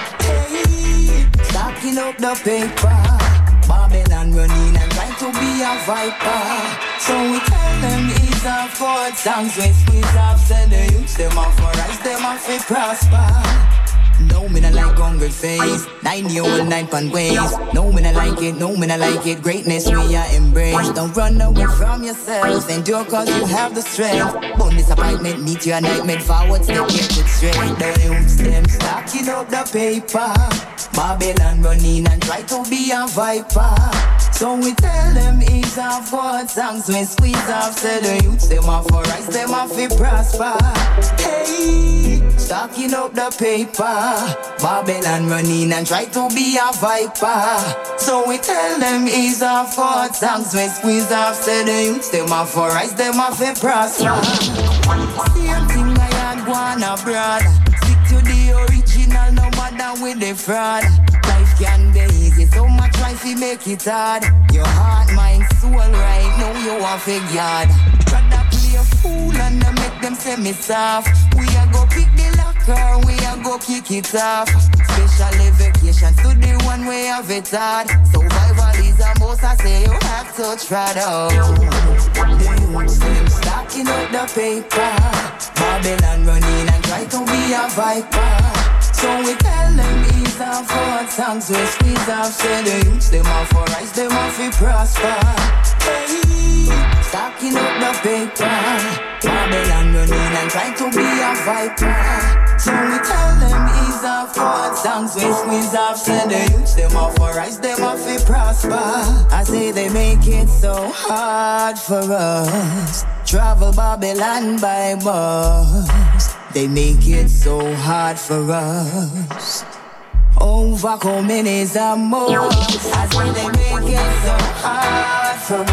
Hey, stacking up the paper. Babylon running and try to be a viper. So we tell them ease off God songs we squeeze off. Say the youths them off for rise, them off for prosper. No, me not like hungry face. Nine year old, nine pound ways. No, me not like it, no, me not like it. Greatness we are embrace. Don't run away from yourself. Endure cause you have the strength. Bone disappointment, meet your nightmare. Forward step, get it straight. The youths them stacking up the paper. Babylon running and try to be a viper. So we tell them ease off God songs we squeeze off. Say the youths them off for rise, them off for prosper. Hey, stacking up the paper. Babylon running and try to be a viper. So we tell them ease off God songs we squeeze off. Say the youths them off for rise, them off for prosper. Same thing I had one abroad. Stick to the original, no matter with the fraud. Life can be easy, so much try to make it hard. Your heart, mind, soul, right now you are figured. Rather play a fool and make them say me soft. We a go pick the locker, we a go kick it off. Special vacation to the one way of it hard. Survival is a most, I say you have to try though. The youths them stacking up the paper. Babylon running and try to be a viper. So we tell them ease off God songs we squeeze off. Say the youths them off for rise, them off for prosper. Hey, stacking up the paper. Babylon running and try to be a viper. So we tell them ease off God songs we squeeze off. Say the youths them off for rise, them off for prosper. I say they make it so hard for us. Travel Babylon by bus. They make it so hard for us. Overcoming is a must. I say they make it so hard for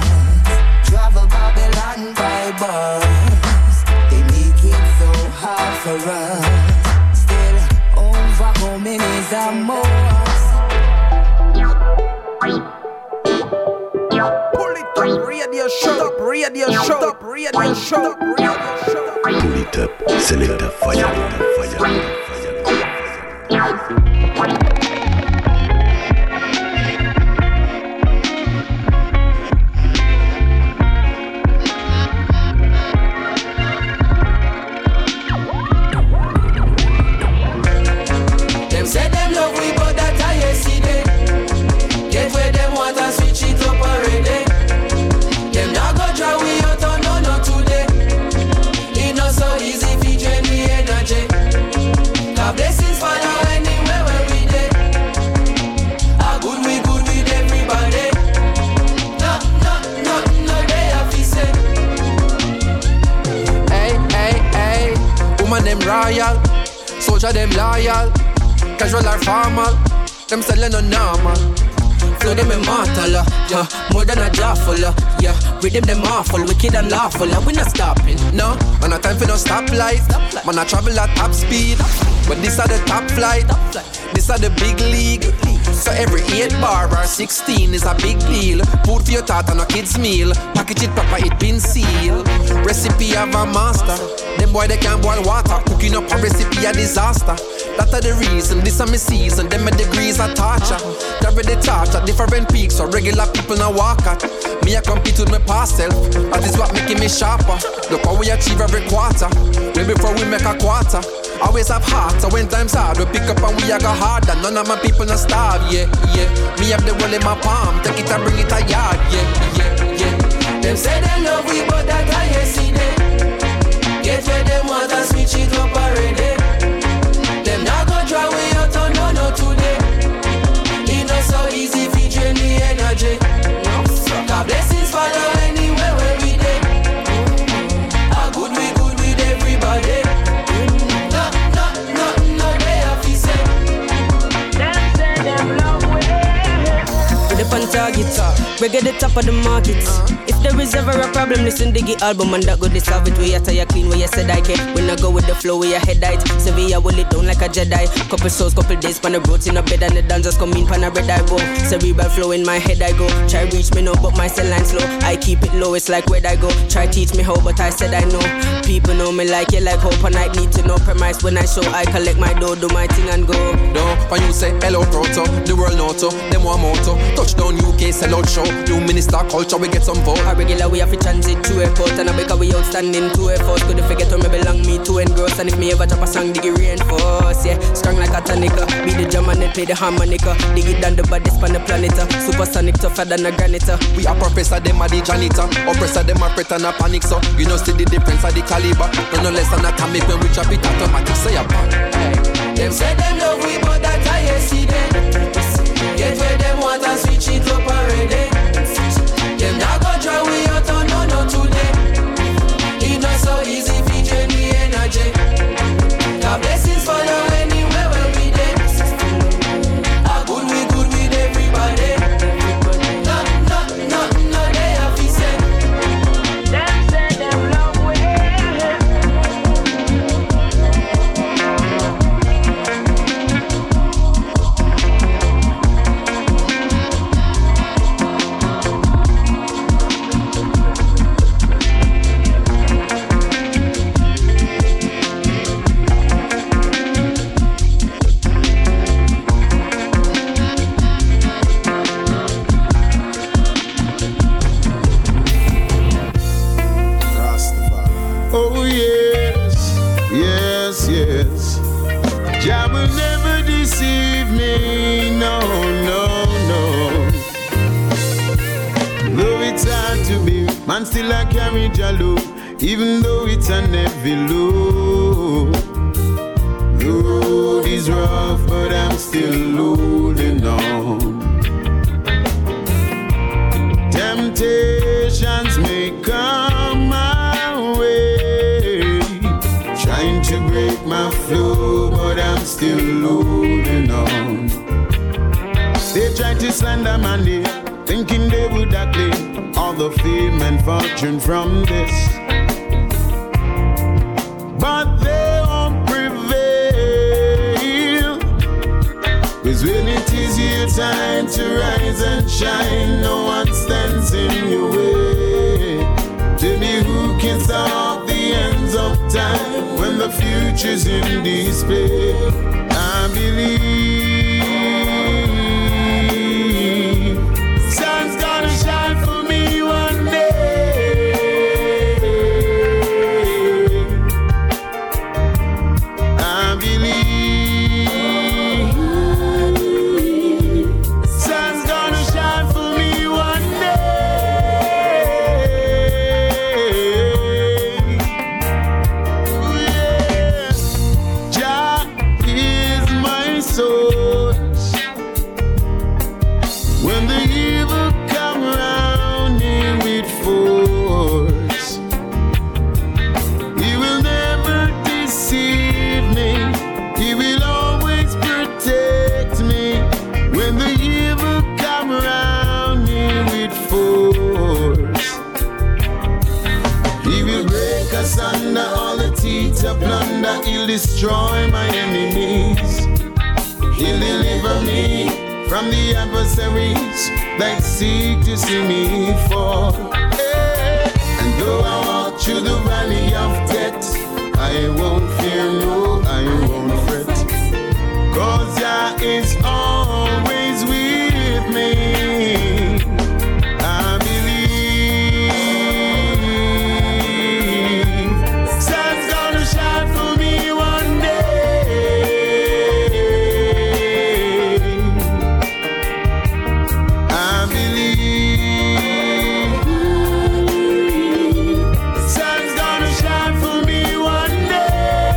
us. Travel Babylon by bus. They make it so hard for us. Still, overcoming is a must. Pull it up, radio show, radio show, radio show, radio show. Pull it up, select the fire, fire, fire, fire. Them say them love we, but that I yesterday. Get where them want and switch it up already. Them not go draw we out on no no today. It not so easy if you drain me energy. them royal, soldier them loyal, casual or formal, them selling no normal. Flow them immortal, uh, yeah, more than a jawful, uh, yeah. Rhythm them awful, wicked and lawful, uh, we not stopping, no. Man, no time for no stoplight, man, I travel at top speed, but this are the top flight, this are the big league. So every eight bar or sixteen is a big deal. Food for your thought and a kid's meal. Package it proper, it been sealed. Recipe of a master. Them boy they can't boil water. Cooking up a recipe a disaster. That are the reason, this are my season. Them my degrees are torture. Carry the torch at different peaks so regular people now walk at. Me I compete with my past self. That is what making me sharper. Look how we achieve every quarter. Way before we make a quarter. Always have heart, so when times hard, we pick up and we a go harder. None of my people not starve, yeah, yeah. Me have the world in my palm, take it and bring it a yard, yeah, yeah, yeah. Them say they love we, but that I ain't see them. Get where them want and switch it up already. Them not gonna try we out on no, no today. It not so easy if you drain the energy. God blessings follow anywhere where we dey. How good we good with everybody. On target, reggae the top of the market. If there is ever a problem, listen to the album and that go to solve it. We are tired clean, where you said I can. When I go with the flow, we are head height. Sevilla will it down like a Jedi. Couple souls, couple days, pan a broach in a bed and the dancers come in, pan a red eye go. Cerebral flow in my head I go. Try reach me now, but my cell line slow. I keep it low, it's like where I go. Try teach me how, but I said I know. People know me like you, like hope, and I need to know premise when I show. I collect my dough, do my thing and go. No, when you say hello proto, the world know to, them one motto. Touchdown U K, sell out show. New minister culture, we get some vote. A regular we have to transit to airport, and I because we outstanding to effort. Couldn't forget where me belong, me to engross. And if me ever drop a song, dig it reinforce. Yeah, strong like a tonica. Be the drum and then play the harmonica. Dig it down the baddest on the planet. Supersonic tougher than a granite. We are professor, them are the janitor. Oppressor, them are pret and a panic. So you know see the difference of the caliber. No no less than atomic when we drop it automatic. Say a bang. Hey. Them say them love we, but that I ain't see them. Get where them want and switch it up already. Them not gonna try we out on no no today. It not so easy if you drain the energy. God blessings follow anywhere where we dey. How good we good with everybody. No, no, no, no, they have to say. Them say them love we. Oh yes, yes, yes. Jah will never deceive me, no, no, no. Though it's hard to be, man still I carry Jah low, even though it's a heavy load. The road is rough, but I'm still holding on. Temptations may come my way, trying to break my flow, but I'm still holding on. They tried to slander my name, thinking they would claim all the fame and fortune from this, but they won't prevail. 'Cause when it is your time to rise and shine, no one stands in your way. Tell me who can stop the ends of time when the future's in display. I believe sun's gonna shine for me one day. I believe sun's gonna shine for me one day. Yeah. Jah is my soul. asunder all the teeth of plunder. He'll destroy my enemies. He'll deliver me from the adversaries that seek to see me fall. Hey. And though I walk through the valley of death, I won't fear, no, I won't fret, 'cause Jah is always with me. I believe sun's gonna shine for me one day. I believe sun's gonna shine for me one day.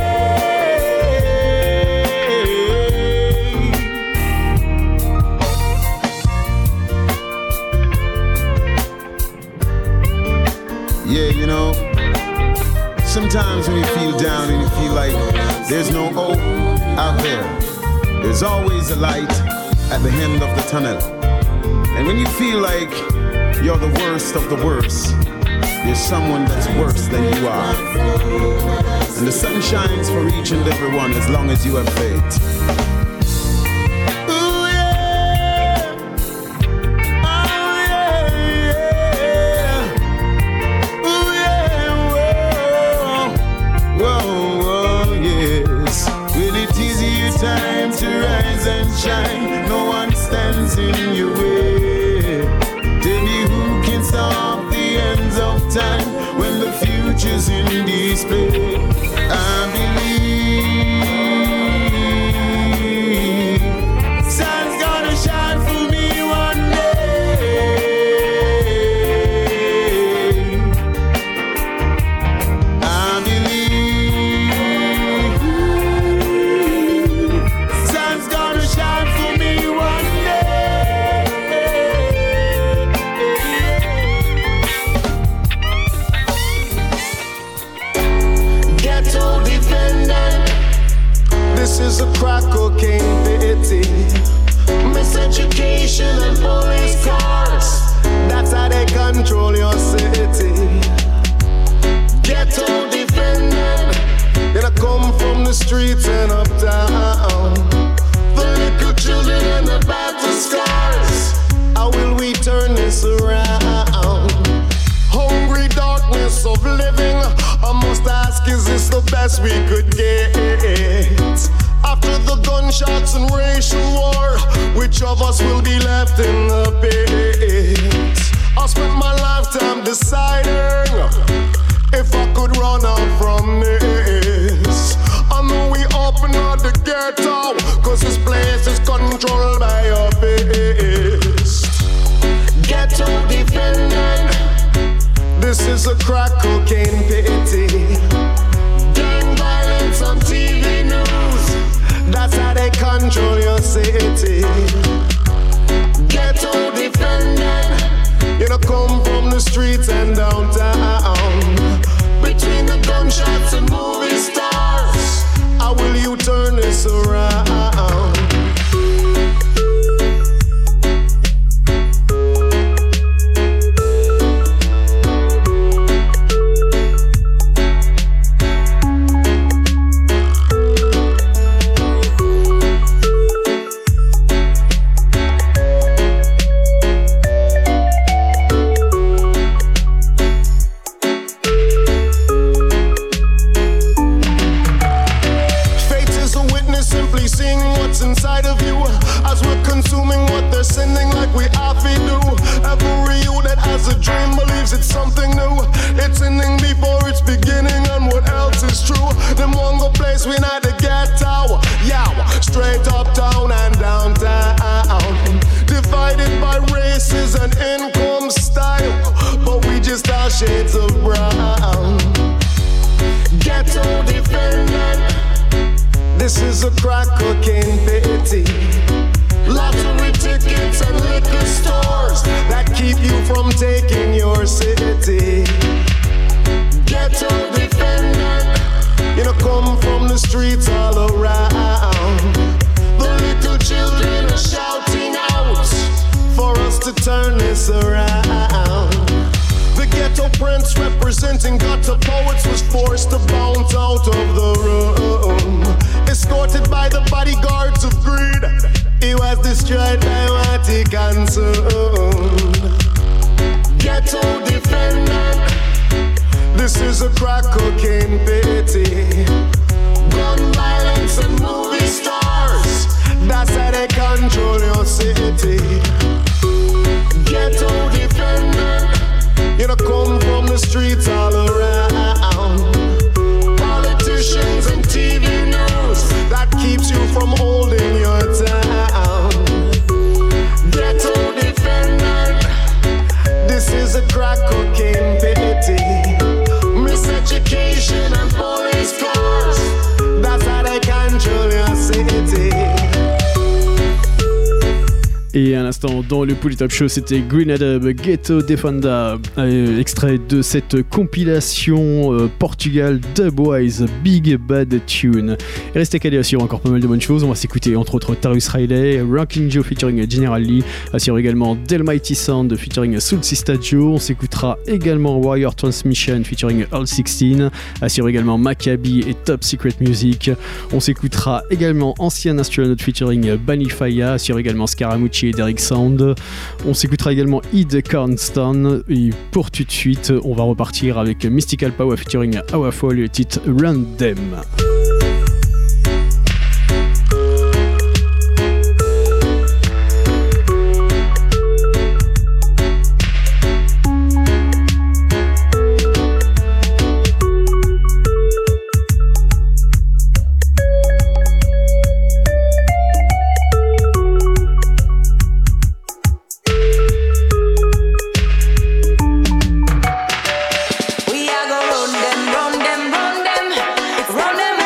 Yeah, you know, sometimes when you feel down and you feel like there's no hope out there, there's always a light at the end of the tunnel. And when you feel like you're the worst of the worst, there's someone that's worse than you are. And the sun shines for each and every one as long as you have faith. Time to rise and shine, no one stands in your way. Tell me who can stop the ends of time when the future's in display. I believe sun's gonna shine for me one day. I believe this is a crack cocaine pity. Miseducation and police cars, that's how they control your city. Ghetto defendant, gonna come from the streets and uptown. The little children and the battle scars, how will we turn this around? Hungry darkness of living, I must ask, is this the best we could get? After the gunshots and racial war, which of us will be left in the pit? I spent my lifetime deciding if I could run out from this. I know we open up the ghetto, 'cause this place is controlled by your fist. Ghetto defendant, this is a crack cocaine pity. Gang violence on T V news, that's how they control your city. Ghetto defendant, you know, come from the streets and downtown. Between the gunshots and movie stars, how will you turn this around? Inside of you, as we're consuming what they're sending like we have to do. Every you that has a dream believes it's something new. It's ending before it's beginning, and what else is true? Them one go place we not the ghetto, yeah, straight uptown and downtown. Divided by races and income style, but we just are shades of brown. Ghetto defendant, this is a crack cocaine pity. Lottery tickets and liquor stores that keep you from taking your city. Ghetto defendant, you know, come from the streets all around. The little children are shouting out for us to turn this around. The ghetto prince representing gutter poets was forced to bounce out of the room. Escorted by the bodyguards of greed, he was destroyed by what he consumed. Ghetto defendant, this is a crack cocaine pity. Gun violence and movie stars, that's how they control your city. Ghetto defendant, you know, come from the streets all around. Politicians and T V news, that keeps you from holding your town. Ghetto defendant, this is a crack cocaine pity. Miseducation and police cars, that's how they control your city. Et à l'instant, dans le Polytop Show, c'était Green Adub, Ghetto Defender, euh, extrait de cette compilation euh, Portugal Dubwise Big Bad Tune. Et restez calés, assure encore pas mal de bonnes choses. On va s'écouter entre autres Tarus Riley, Ranking Joe featuring General Lee, assure également Delmighty Sound featuring Soul Sista Joe. On s'écoutera également Warrior Transmission featuring All sixteen, assure également Maccabi et Top Secret Music. On s'écoutera également Ancien Astronaut featuring Banifaya, assure également Scaramucci et Derek Sound. On s'écoutera également Id Cornston. Et pour tout de suite, on va repartir avec Mystical Power featuring Awafol et le titre Run Them. Run them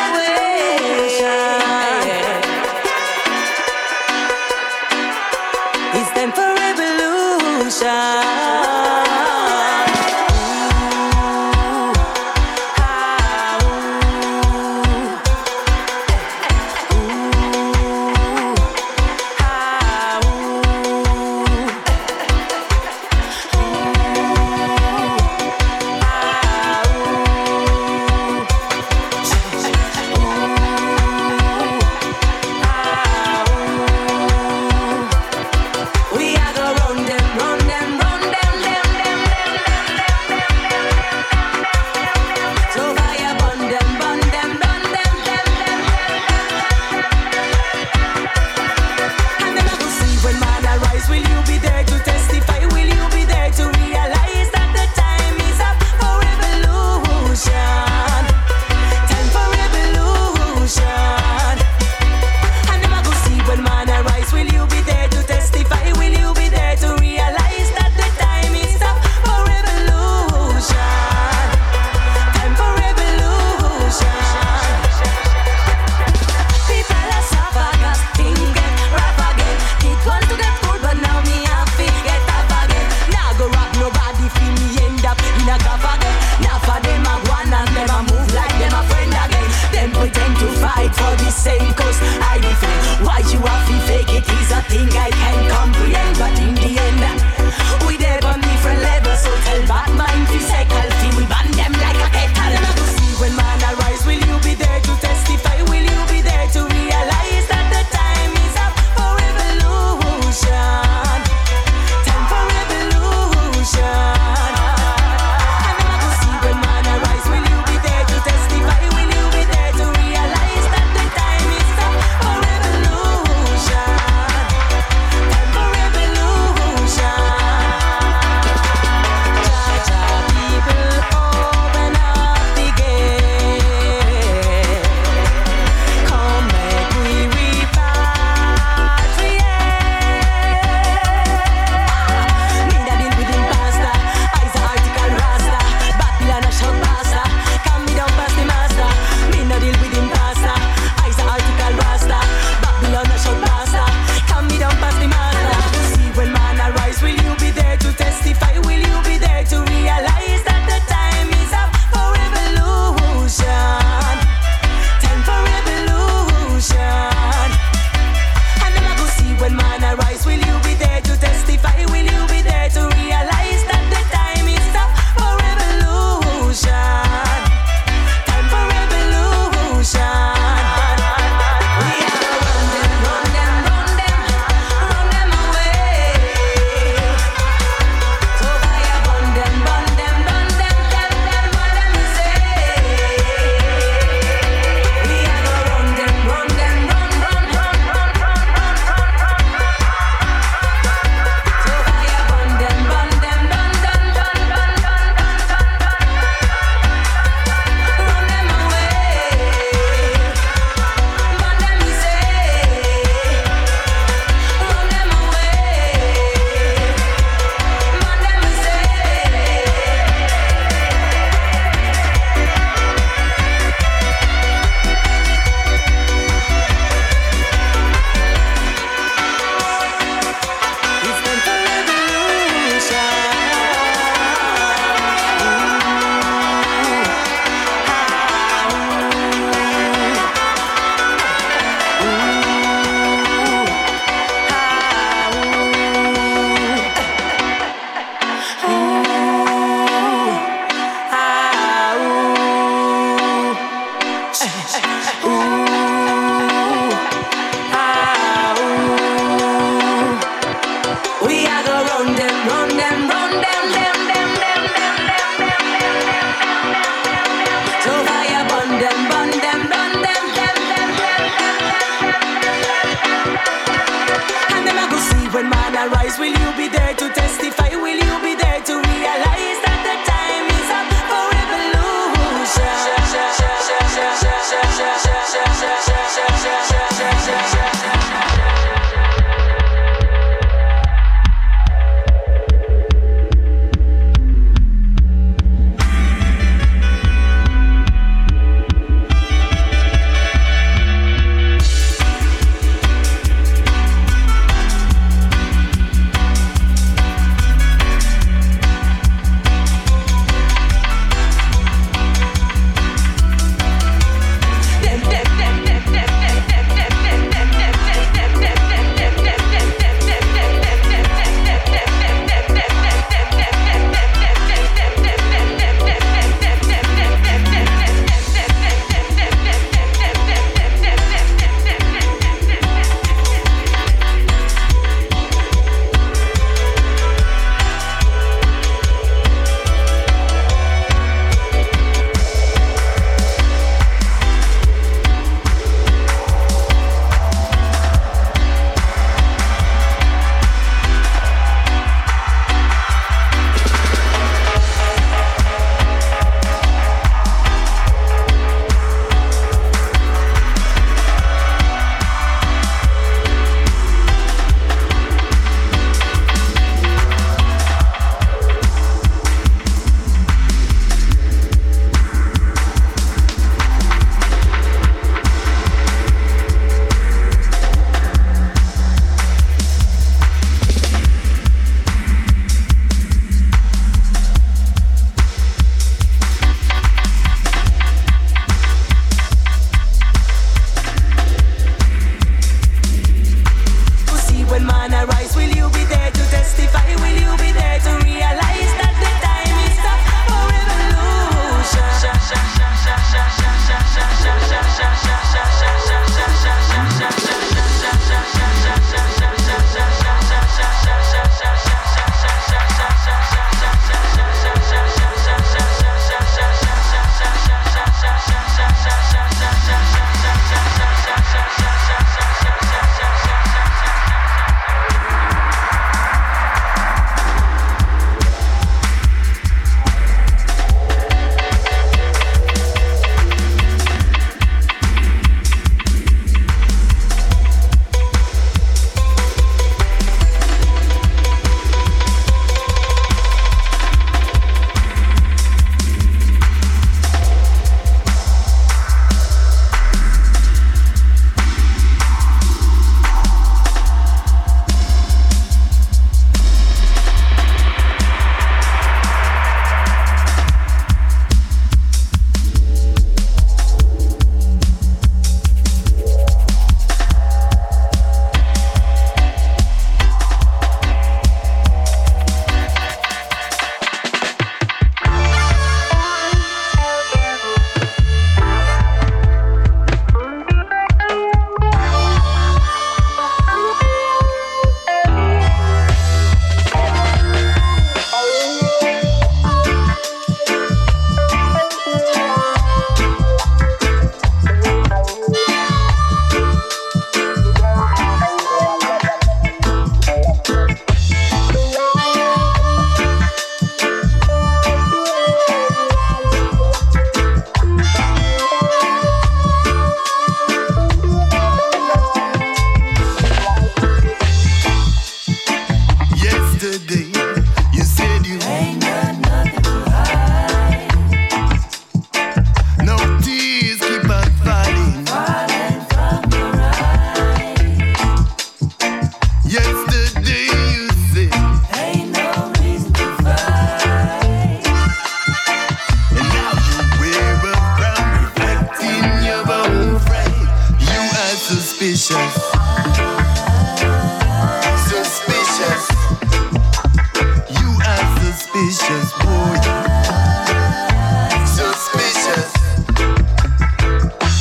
Suspicious.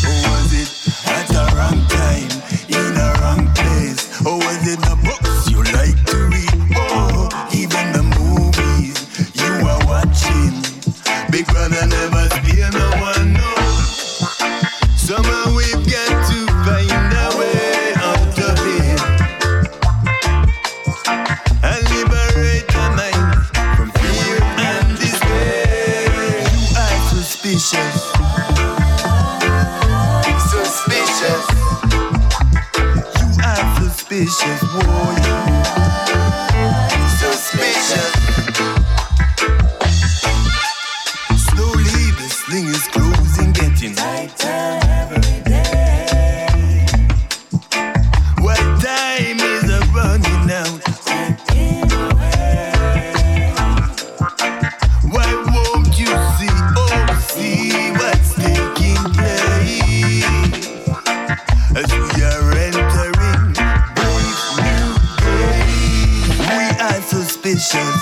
suspicious, boy. Suspicious. Slowly the sling is closing, getting tighter every day. While time is a running out, why won't you see, oh see what's taking place as we are entering brave new days. We are suspicious,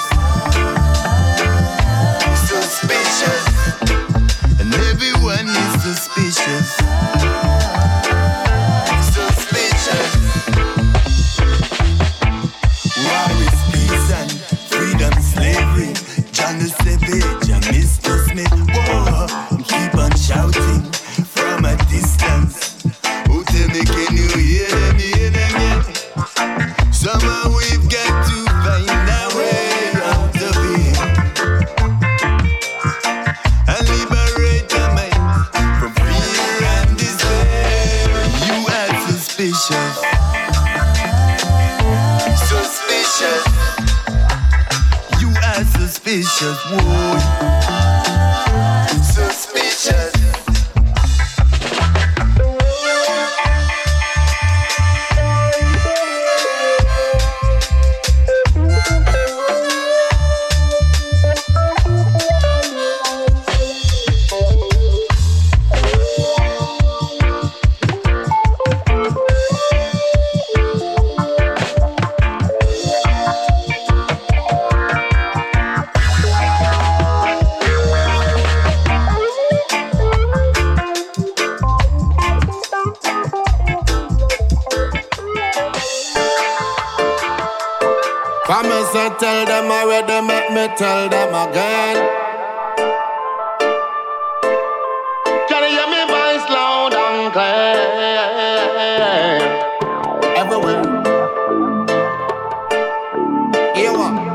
suspicious, and everyone is suspicious, suspicious. War is peace and freedom, slavery. John the Savage and Mister Smith. Whoa, keep on shouting from a distance. Oh, tell me, can you hear them, hear them yet? Somehow we've got to find our way out of here and liberate our minds from fear and despair. You are suspicious, suspicious. You are suspicious, boy. Suspicious. Come and say, tell them already, make me tell them again. Can you hear me voice loud and clear? Everywhere. Here what?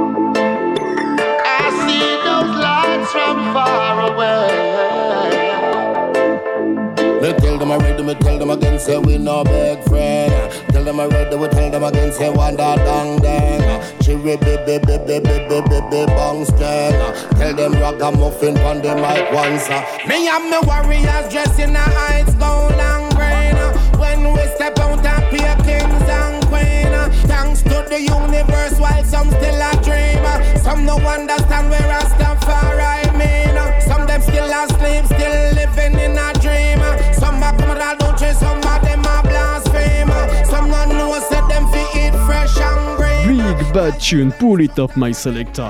I see those lights from far away. Me tell them already, me tell them again, say we no big friend. Tell them already, we tell them again, say one that dang dang. Chiri bi bi bi bi bi bi bi bi bong string. Tell them ragamuffin pon the mic once. Me and me warriors dressed in a heights gold and green. When we step out and be kings and queen. Thanks to the universe while some still a dream. Some no understand where Rastafari mean. Some them still asleep, still living in a dream. Some a come out don't chase, some of them a blaspheme. Some not know say them fi eat fresh and green. Big bad tune, pull it up my selector.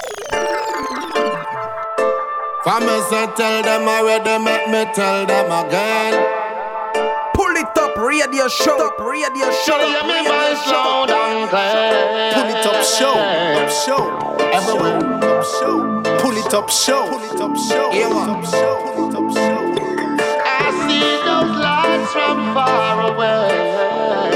For me say tell them already, make me tell them again. Pull it up, radio show, up, radio show. Show me my slow down clear. Pull it up, show, up, show. Everywhere, up, show. Pull it up, show. Pull it up, show. Yeah, pull it up, show. Pull it up, show. I see those lights from far away.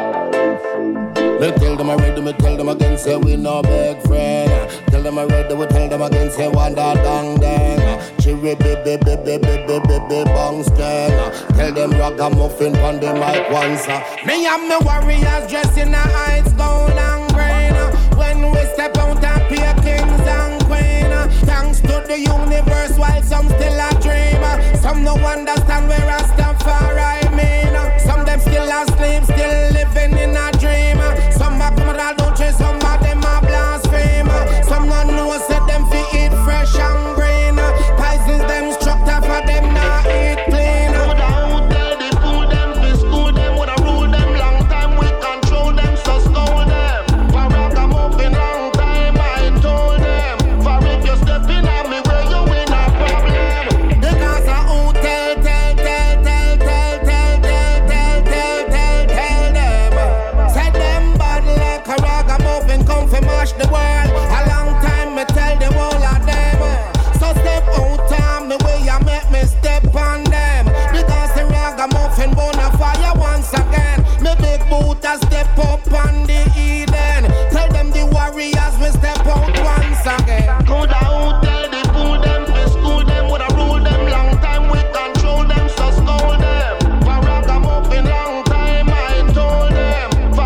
Me tell them already, me tell them again, say we no big friend. Tell them already, we tell them again, say one that dang dang. Chiri bi bi bi bi bi bi bi bi bong string. Tell them ragamuffin pon the mic once. Me and me warriors dressed in a heights gold and green. When we step out and be kings and queen. Thanks to the universe while some still a dream. Some no understand where Rastafari mean. Some them still asleep, still living in a dream. Some a come out don't chase, some of them a blaspheme. Some not know say them fi eat fresh and green. Poisons them structure for them not eat clean. Woulda out tell the fool them fi school them. Woulda rule them long time, we control them so scold them. For ragamuffin long time I told them. For if you step in on me where you in a problem. Because I who tell tell tell tell tell tell tell tell tell tell tell them. Said them bad like a ragamuffin come fi mash the world. A long time me tell the whole of them. So step out on me way you make me step on them. Because the ragamuffin bona fire once again. Me big boot a step up on the Eden. Tell them the warriors we step out once again. Coulda out tell the fool them fi school them. Woulda rule them long time, we control them so scold them. For ragamuffin long time I told them.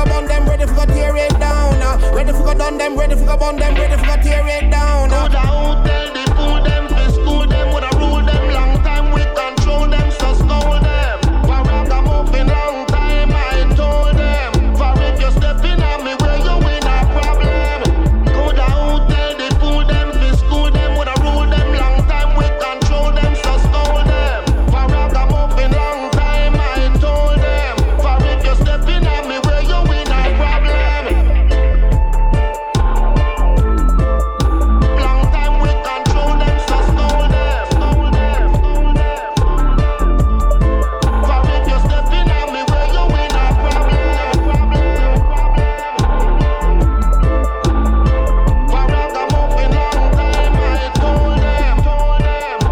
go burn them, ready for go tear it down. Ready for go done them, ready for go burn them, ready for go tear it down. Coulda out tell the fool them, fi school them, woulda rule them long time, we control them, so stole them. For ragamuffin long time, I told them. For if you step in on me, where you in a problem. Coulda out tell the fool them, fi school them, woulda rule them long time, we control them, so stole them. For ragamuffin long time, I told them. For if you step in on me, where you in a problem. Long time we control them, so stole them, stole them, stole them. For if you step in on me, where you in a problem, problem, problem. For ragamuffin long time, I told them, told them.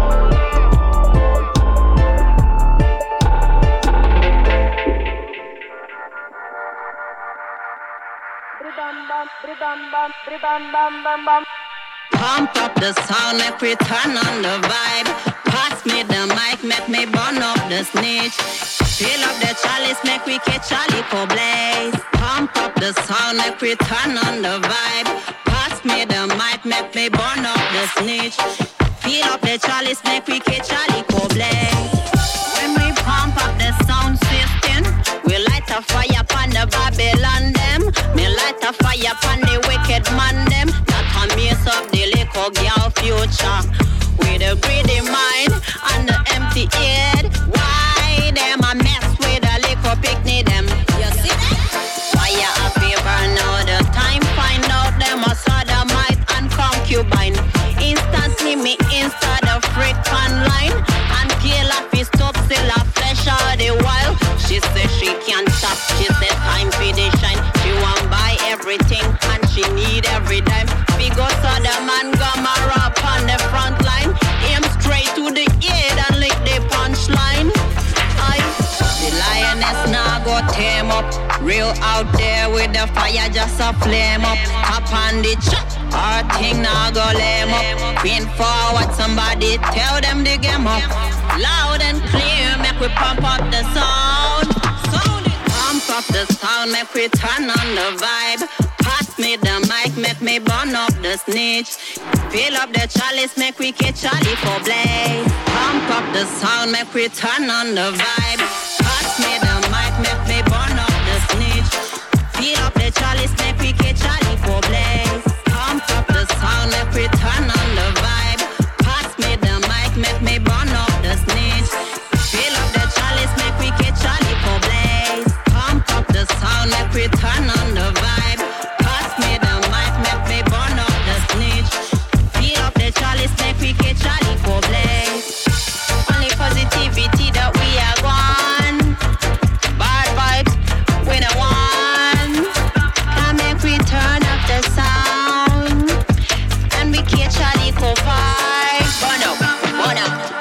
Pump up the sound, make we turn on the vibe. Pass me the mic, make me burn up the snitch. Fill up the chalice, make we catch a little blaze. Pump up the sound, make we turn on the vibe. Pass me the mic, make me burn up the snitch. Fill up the chalice, make we catch a little blaze. When we pump up the sound system, we light a fire upon the Babylon them. Me light a fire upon the wicked man them. That a mess up the little girl future. With a greedy mind and the empty head. Why them a mess with a little picnic them? You see that? Fire a fever now the time. Find out them a sodomite and concubine. Instantly me insta the freak online. And kill a fist up still a flesh all the while. She says she can't stop, she said time for the shine. She want buy everything and she need every dime. Big up so the man Gomorrah on the front line. Aim straight to the head and lick the punchline. I, the lioness now go tame up. Real out there with the fire just a flame up. Up on the chop, our thing now go lame up. Queen forward, somebody tell them the game up. Loud and clear, make we pump up the sound. Sound it. Pump up the sound, make we turn on the vibe. Pass me the mic, make me burn up the snitch. Fill up the chalice, make we catch a little blaze. Pump up the sound, make we turn on the vibe. Pass me the mic, make me burn up the snitch. Fill up the chalice, make we catch a little blaze. Pump up the sound, make we turn on the vibe. Pass me the mic, make me burn up the snitch. Fill up the chalice, make we catch a little blaze. Pump up the sound, make we turn on the vibe. Pass me the mic, make me burn up the snitch. Fill up the chalice, make we catch a little blaze. Only positivity that we are gone. Bad vibes, we don't want. Can make we turn up the sound. And we catch a little vibe. Burn up, burn up.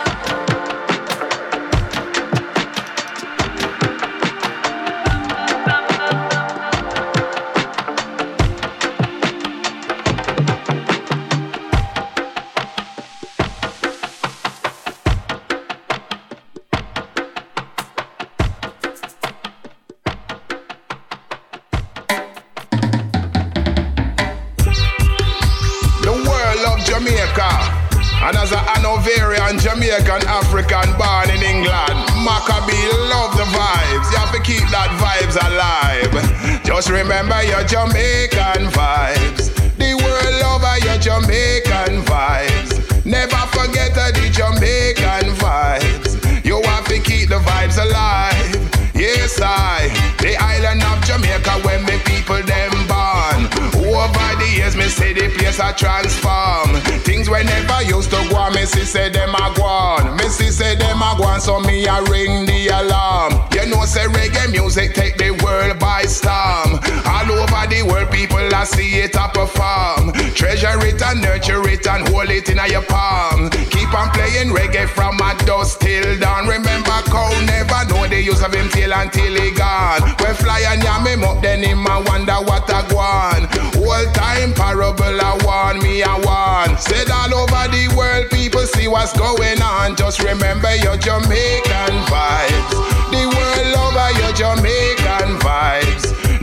And as a Hanoverian, Jamaican, African, born in England, Maccabee love the vibes. You have to keep that vibes alive. Just remember your Jamaican vibes. The world over your Jamaican vibes. Never forget the Jamaican vibes. You have to keep the vibes alive. Yes, I, the island of Jamaica, when the people them born. Over the years, me say the place a transform. Things we never used to go on, me see say them a go on. Me see say them a go on, so me a ring the alarm. You know say reggae music take the world by storm. All over the world, people a see it a perform. Treasure it and nurture it and hold it in your palm. Keep on playing reggae from a dusk till dawn. Remember, cow never know the use of him till until he gone. When fly and yam him up, then him a wonder what a go on. Whole time parable a warn me a warn. Said all over the world, people see what's going on. Just remember your Jamaican vibes. The world over your Jamaican vibes. Never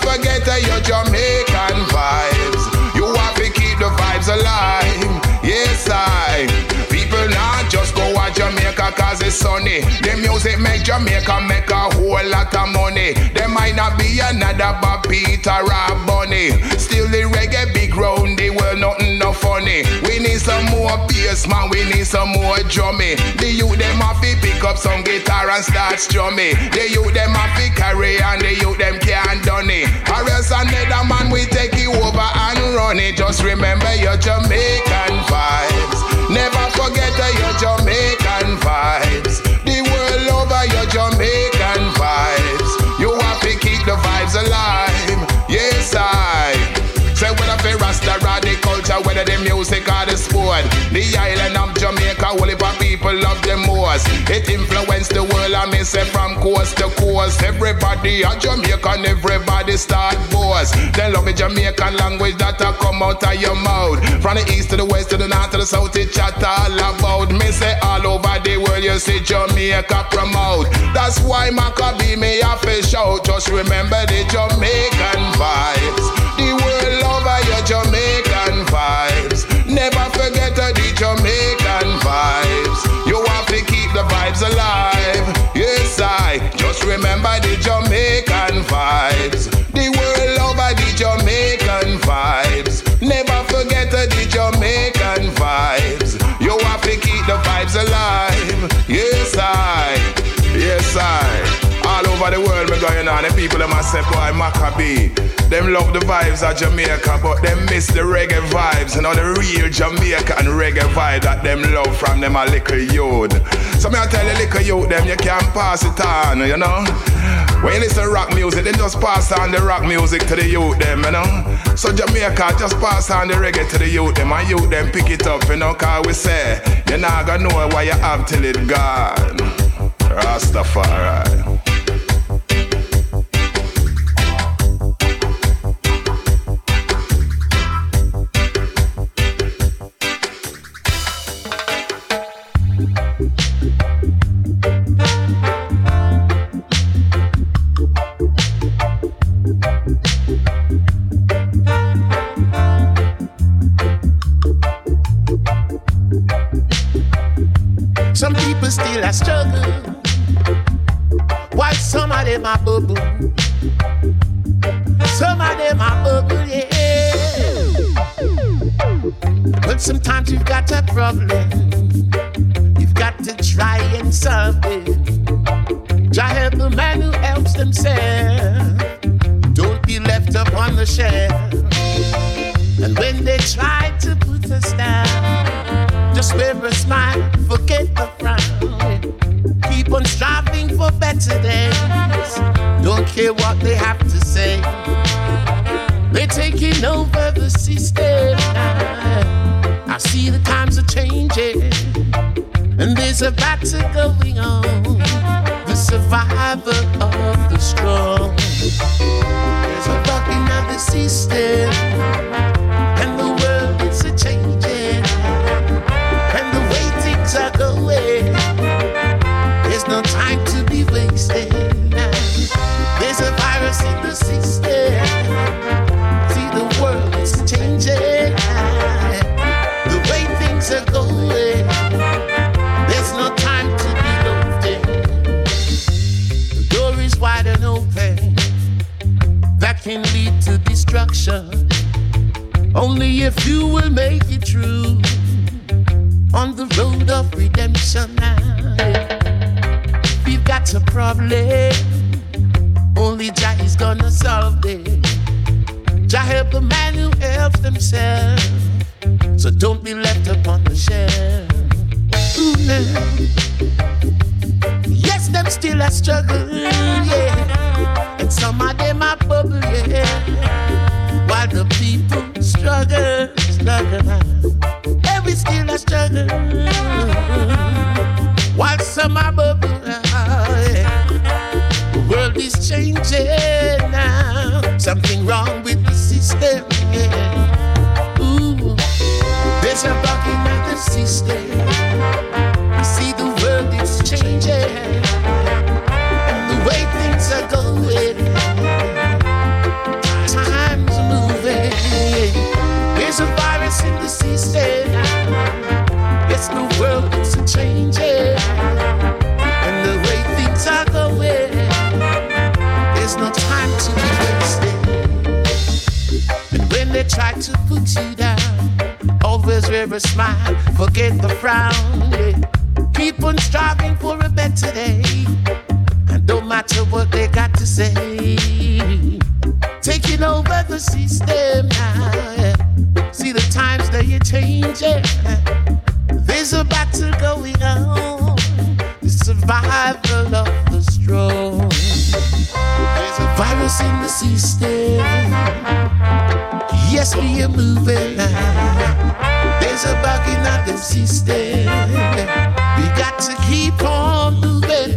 forget uh, your Jamaican vibes. You have to keep the vibes alive. Yes, I. People not just go to Jamaica cause it's sunny. The music make Jamaica make a whole lot of money. There might not be another Bob Peter or Bunny. Still the reggae big round the world, nothing no funny. We need some more bass man, we need some more drummy. The youth them have to pick up some guitar and start strumming. The youth them have to carry and the youth them can't done it. Or else another man we take you over and run it. Just remember your Jamaican vibes. Never forget your Jamaican vibes. The world over your Jamaican vibes. You have to keep the vibes alive. Yes, I. Say whether for Rasta or the culture, whether the music or the sport, the island of Jamaica, whole heap of people love the most. It influenced the world, I may say from coast to coast. Everybody a Jamaican, everybody start boast. They love the Jamaican language that a come out of your mouth. From the east to the west to the north to the south, it chat all about. Me say all over the world, you see Jamaica promote. That's why Maccabee me have to shout. Just remember the Jamaican vibes. The world over your Jamaican vibes. Never forget the Jamaican vibes. You have to keep the vibes alive. Yes, I. Just remember the Jamaican vibes. The world over the Jamaican vibes. Never forget the Jamaican vibes. You have to keep the vibes alive. Yes, I. Yes, I. All over the world me going on. The people them a say, boy, Maccabee. Them love the vibes of Jamaica, but them miss the reggae vibes. You know, the real Jamaican reggae vibe that them love from them a little youth. So me I tell you, little youth, them you can't pass it on, you know. When you listen to rock music, then just pass on the rock music to the youth, them, you know. So Jamaica, just pass on the reggae to the youth, them, and youth, them pick it up, you know, cause we say, you're not gonna know what you have till it gone. Rastafari. Some people still a struggle, while some of them are bubble. Some of them are bubble, yeah. But sometimes you've got a problem, you've got to try and solve it. Jah help the man who helps themselves. Don't be left up on the shelf. And when they try to put us down, just wear a smile, forget the frown. Keep on striving for better days. Don't care what they have to say. They're taking over the system. I see the times are changing, and there's a battle going on. The survivor of the strong. There's a bucking of the system, and the world is a changing. Are going. There's no time to be wasted. There's a virus in the system. See, the world is changing. The way things are going. There's no time to be loafing. The door is wide and open. That can lead to destruction. Only if you will make it through. On the road of redemption now. We've got a problem, only Jah is gonna solve it. Jah help the man who helps themselves, so don't be left upon the shelf. Ooh, yes, them still a struggle, yeah. And some of them are bubble, yeah. While the people struggle, struggle. We still a struggle, while some are bubble. The world is changing now. Something wrong with the system. Yeah. Ooh, there's a bug in the system. You see, the world is changing, and the way things are going. wear a smile, forget the frown. Yeah. Keep on striving for a better day, and don't matter what they got to say. Taking over the system now. Yeah. See the times that you're changing. There's a battle going on, the survival of the strong. There's a virus in the system. Yes, we are moving now. There's a bug in the system. We got to keep on moving.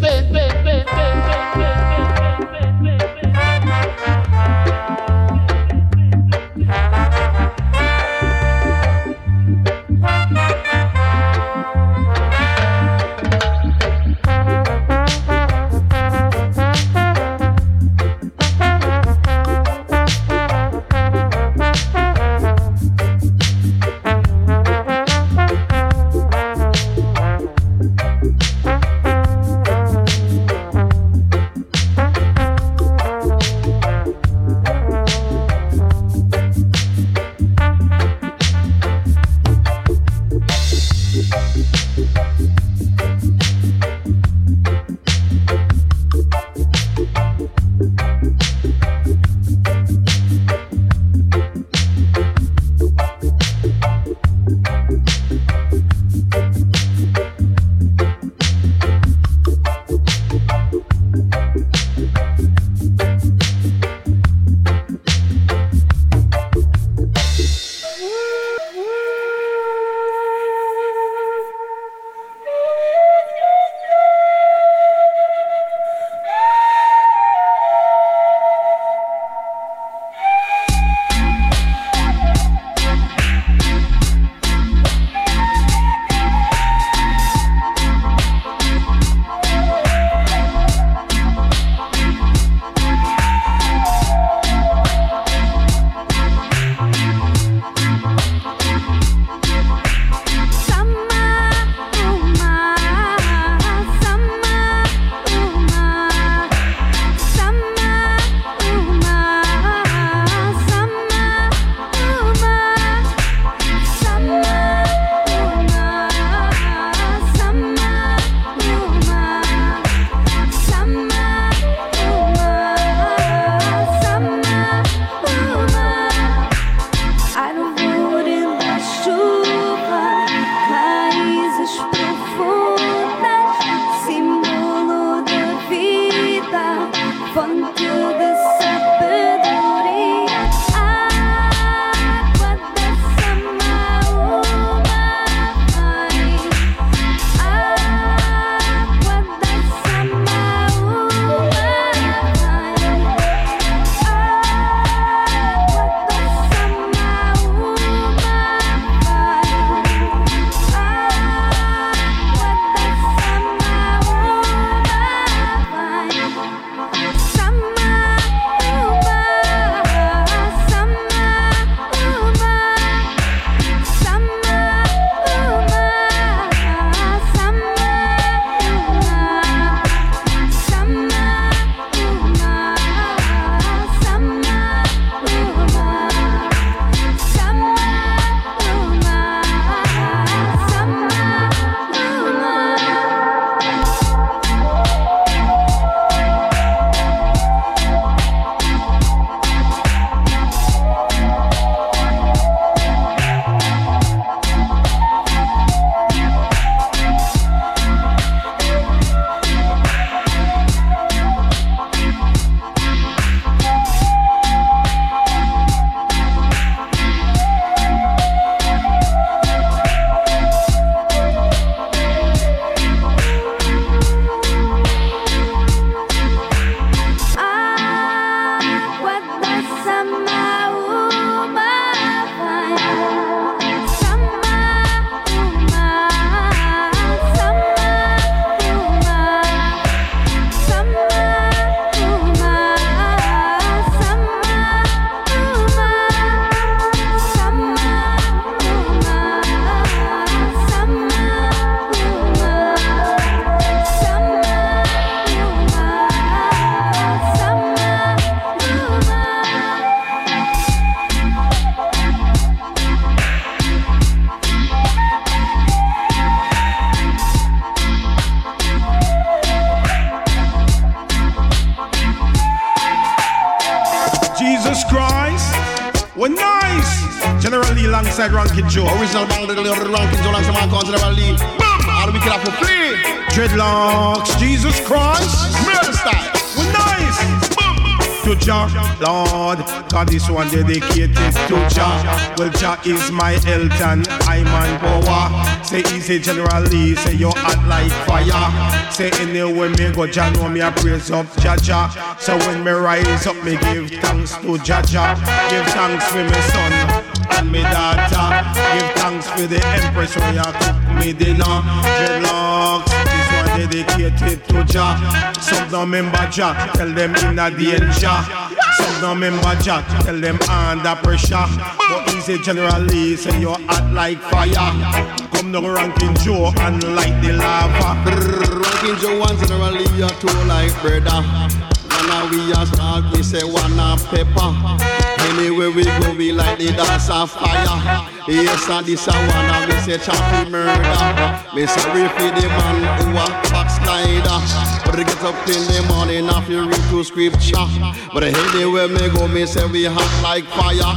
Jesus Christ. We're nice. General Lee alongside Rankin Joe. Original bang, the Rankin Joe alongside my cousin General Lee. How do we kill off for free? Dreadlocks, Jesus Christ. Murder style. We're nice. To Jah, Lord, God, this one dedicated to Jah. Well, Jah is my health and I'm on power. Say easy, General Lee, say you're hot like fire. Say anywhere me go, Jah know me a praise up Jah Jah. So when me rise up, me give thanks to Jah Jah. Give thanks for my son and my daughter. Give thanks for the empress when you cook me dinner. Dreadlocks, this one dedicated to Jah. Some don't remember Jah, tell them in a danger. Some don't remember Jah, tell them under pressure. But easy, General Lee, say you're hot like fire. Come to Rankin Joe and light the lava. Rankin Joe and General Lee, you're too like brother. And now we are start, we say one of pepper. Anywhere we go, we like the dance of fire. Yes, and this a one, and we say champion murder. Me sorry for the man who a backslider. But they get up in the morning and you read to scripture. But anywhere me go, me say we hot like fire.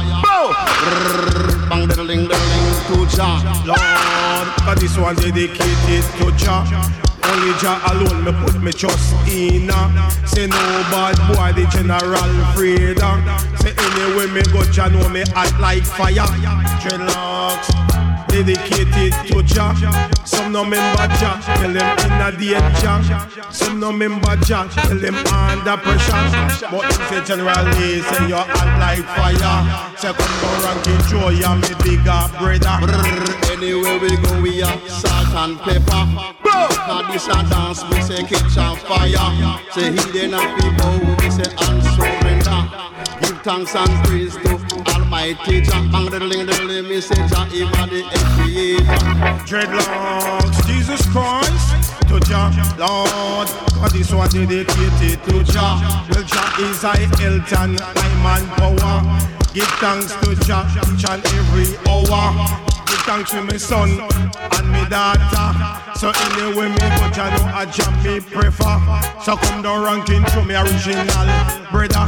Boom! Bang the ling the ling to Jah. Lord, but this one dedicated to Jah. Only Jah alone me put me trust in. Say no bad boy, the General Freedom. Say anywhere me go, Jah know me hot like fire. Dreadlocks, dedicated to Jah. Some no member Jah, tell them in a danger. Some no member Jah, tell them under pressure. But you say General Lee, say you're hot like fire. Say come down Rankin Joe, you're me bigger brother. Anywhere we go, we are salt and pepper. Cause this a dance, we say catch on fire. Say hidden and people, we say and surrender. Give thanks and praise to Almighty Jah. And the ling the ling, me say Jah, even the creator. Dreadlocks, Jesus Christ, to Jah, Lord. Cause this one dedicated to Jah. Well, Jah is I health and I'm on power. Give thanks to Jah each and every hour. Give thanks to my son and my daughter. So anyway me go, Jah know a Jah me prefer. So come down Rankin to me original brother.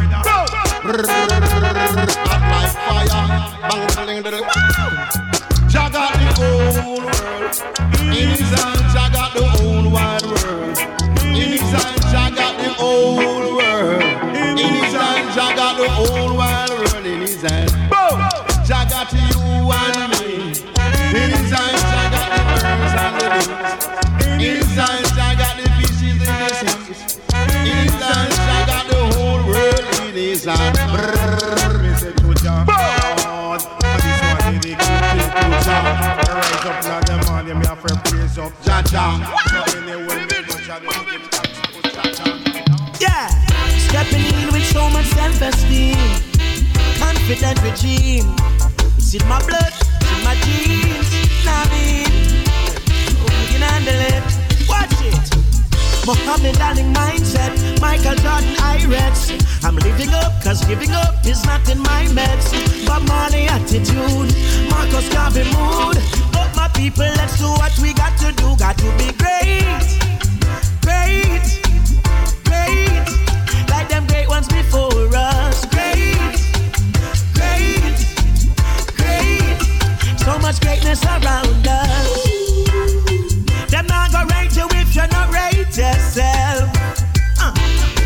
Hot like fire, bang the ling. Jah got the whole world in his hand. Jah got the whole wide world in his hand. Jah got the whole world in his hand. Jah got the whole wide world in his hand. Jah got you and me in his hand. Jah got the birds and the bees in his hand. Jah got the fishes in the seas in his hand. Jah got the whole world in his hand. Me say to Jah, Lord, and this one dedicated to Jah. Rise up now the morning, me have to praise up Jah Jah. So anyway me go, Jah know give thanks to Jah Jah. Yeah, stepping in with so much self-esteem, confident regime. It's in my blood, it's in my genes. Now me, you can handle it. Watch it. Muhammad Ali mindset, Michael Jordan I-Rex. I'm living up, cause giving up is not in my meds. Bob Marley attitude, Marcus Garvey mood. Up my people, let's do what we got to do. Got to be great, great, great. Like them great ones before us. Great, great, great. So much greatness around us. Them not gonna rate you if you not rate yourself. Uh.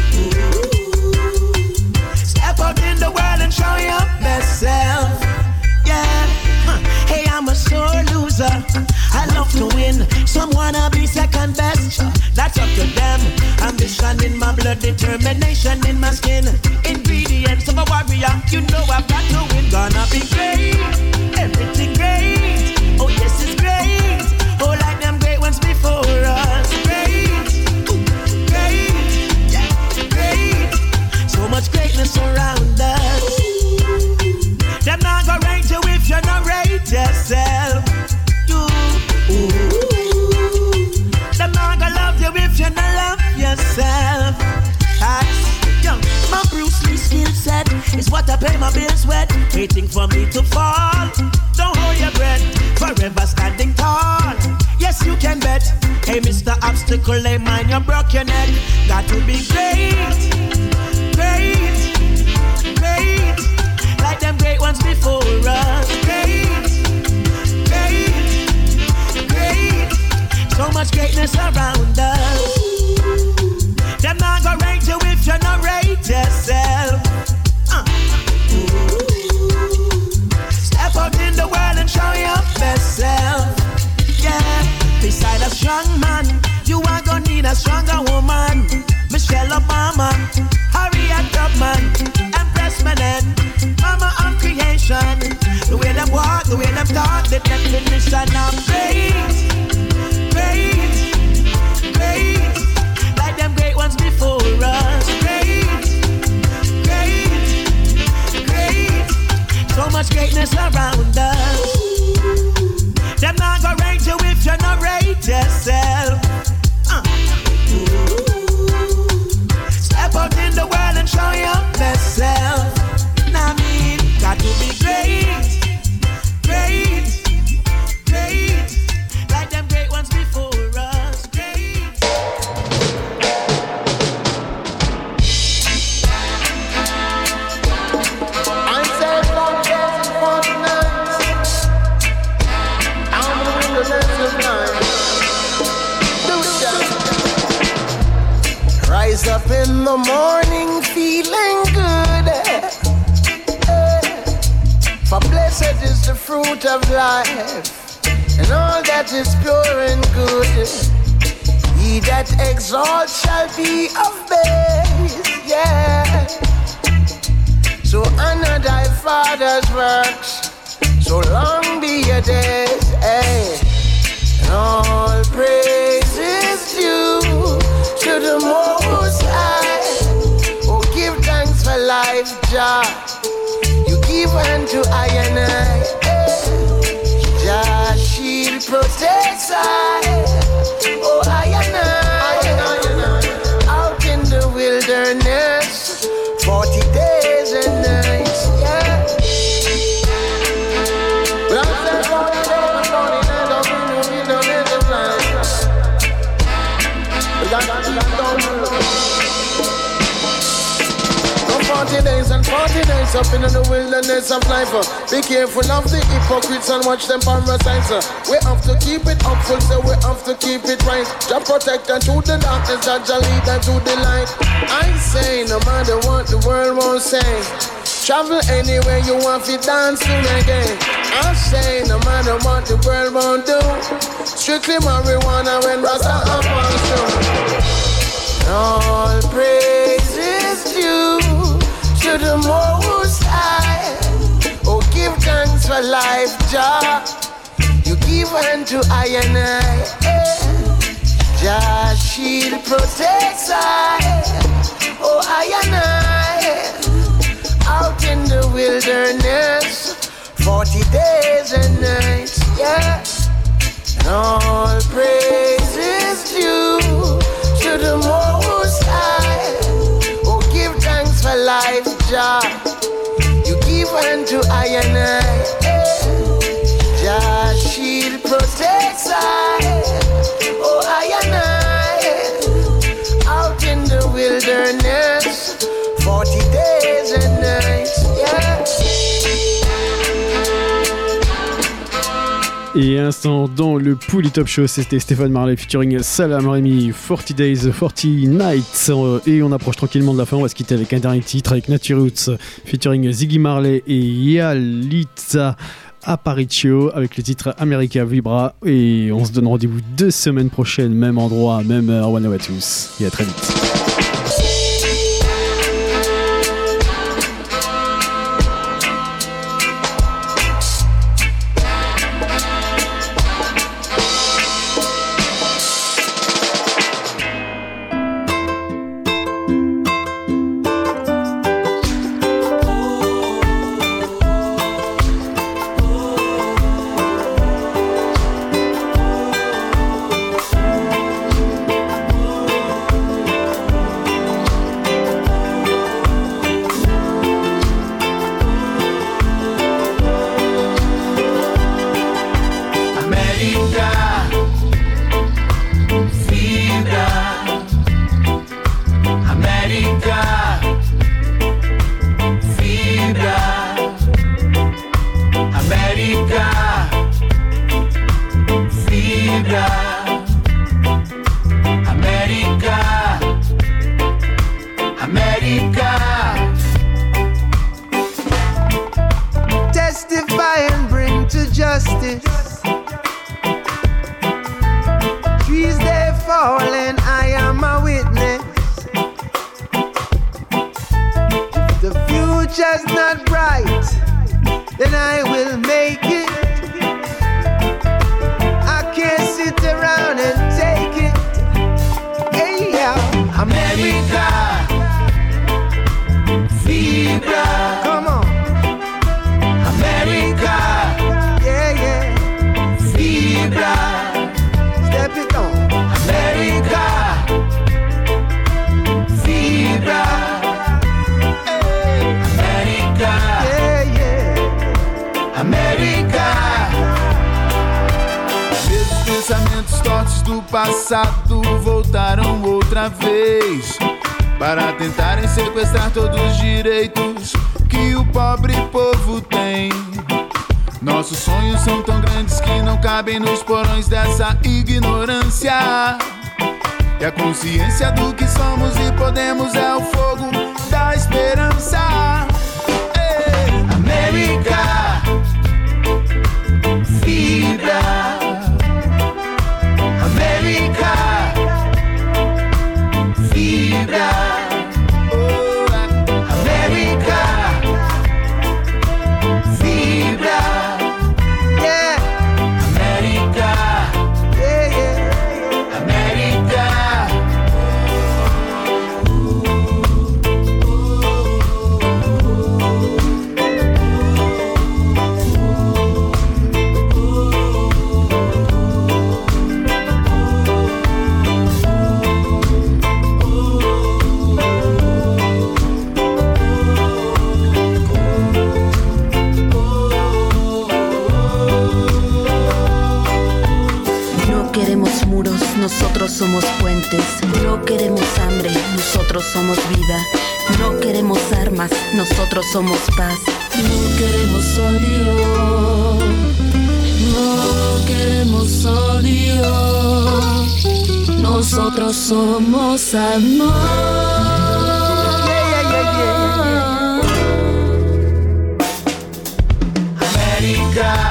Step out in the world and show your best self. Yeah. Huh. Hey, I'm a sore loser. I love to win. Some wanna be second best. That's up to them. Ambition in my blood, determination in my skin. Ingredients of a warrior. You know I've got to win. Gonna be great. Everything great. Oh yes, it's great. Oh, like them great ones before us. Great. Ooh, great. Yeah, great. So much greatness around us. Them not gonna rate you if you not rate yourself. Ooh. Them not gonna love you if you not love yourself. That's young. My Bruce Lee skill set is what I pay my bills with. Waiting for me to fall. Don't hold your breath. Forever standing tall. Yes, you can bet. Hey, Mister Obstacle, hey man, you broke your neck. Got to be great, great, great. nation. The way them walk, the way them talk, the definition of great, great, great. Like them great ones before us. Great, great, great. So much greatness around us. Them not gonna rate you if you not rate yourself. Uh. Step out in the world and show your best self. Nah, I mean, got to be great, great, great. Like them great ones before us. Great. I said long days and forty nights. I'm in the lens of night. Rise up in the morning feeling good. For blessed is the fruit of life, and all that is pure and good. He that exalts shall be of base, yeah. So honor thy father's works, so long be your days, eh. And all praise is due to the Most High. Oh, give thanks for life, Jah. You give unto I and I. Jah shield protects I. Oh, I and I. Out in the wilderness, forty days and nights, yeah. Well, I said forty days and forty nights, I'll be in the wilderness of life. We got to keep going. forty days and forty nights up in the wilderness of life. Be careful of the hypocrites and watch them parasites. We have to keep it upful, so we have to keep it right. Just protect them to the darkness, just lead them to the light. I say, no matter what the world won't say, travel anywhere you want to dance to again. I say, no matter what the world won't do, strictly marijuana when Rasta happens to. All praise is due to the Most High. Oh, give thanks for life, Jah. You give unto I and I. Jah shield protects I. Oh, I and I. Out in the wilderness, forty days and nights, yeah. And all praise is due to the Most High. Oh, give thanks for life, Jah. You give unto I and I. Jah shield protects I. Oh, I and I. Out in the wilderness, forty days and nights, yeah. Et instant dans le Pouli Top Show, c'était Stéphane Marley featuring Salam Remy, forty days, forty nights. Et on approche tranquillement de la fin, on va se quitter avec un dernier titre avec Nature Roots featuring Ziggy Marley et Yalitza Aparicio avec le titre America Vibra. Et on se donne rendez-vous deux semaines prochaines, même endroit, même heure. One à tous et à très vite. América. Esses pensamentos tortos do passado voltaram outra vez para tentarem sequestrar todos os direitos que o pobre povo tem. Nossos sonhos são tão grandes que não cabem nos porões dessa ignorância. E a consciência do que somos e podemos é o fogo da esperança. Ei, América, vibra. América, vibra. Oh, América, vibra. Yeah, América, yeah, yeah. América. Nosotros somos puentes, no queremos hambre, nosotros somos vida. No queremos armas, nosotros somos paz. No queremos odio, no queremos odio. Nosotros somos amor. Yeah, yeah, yeah, yeah. América.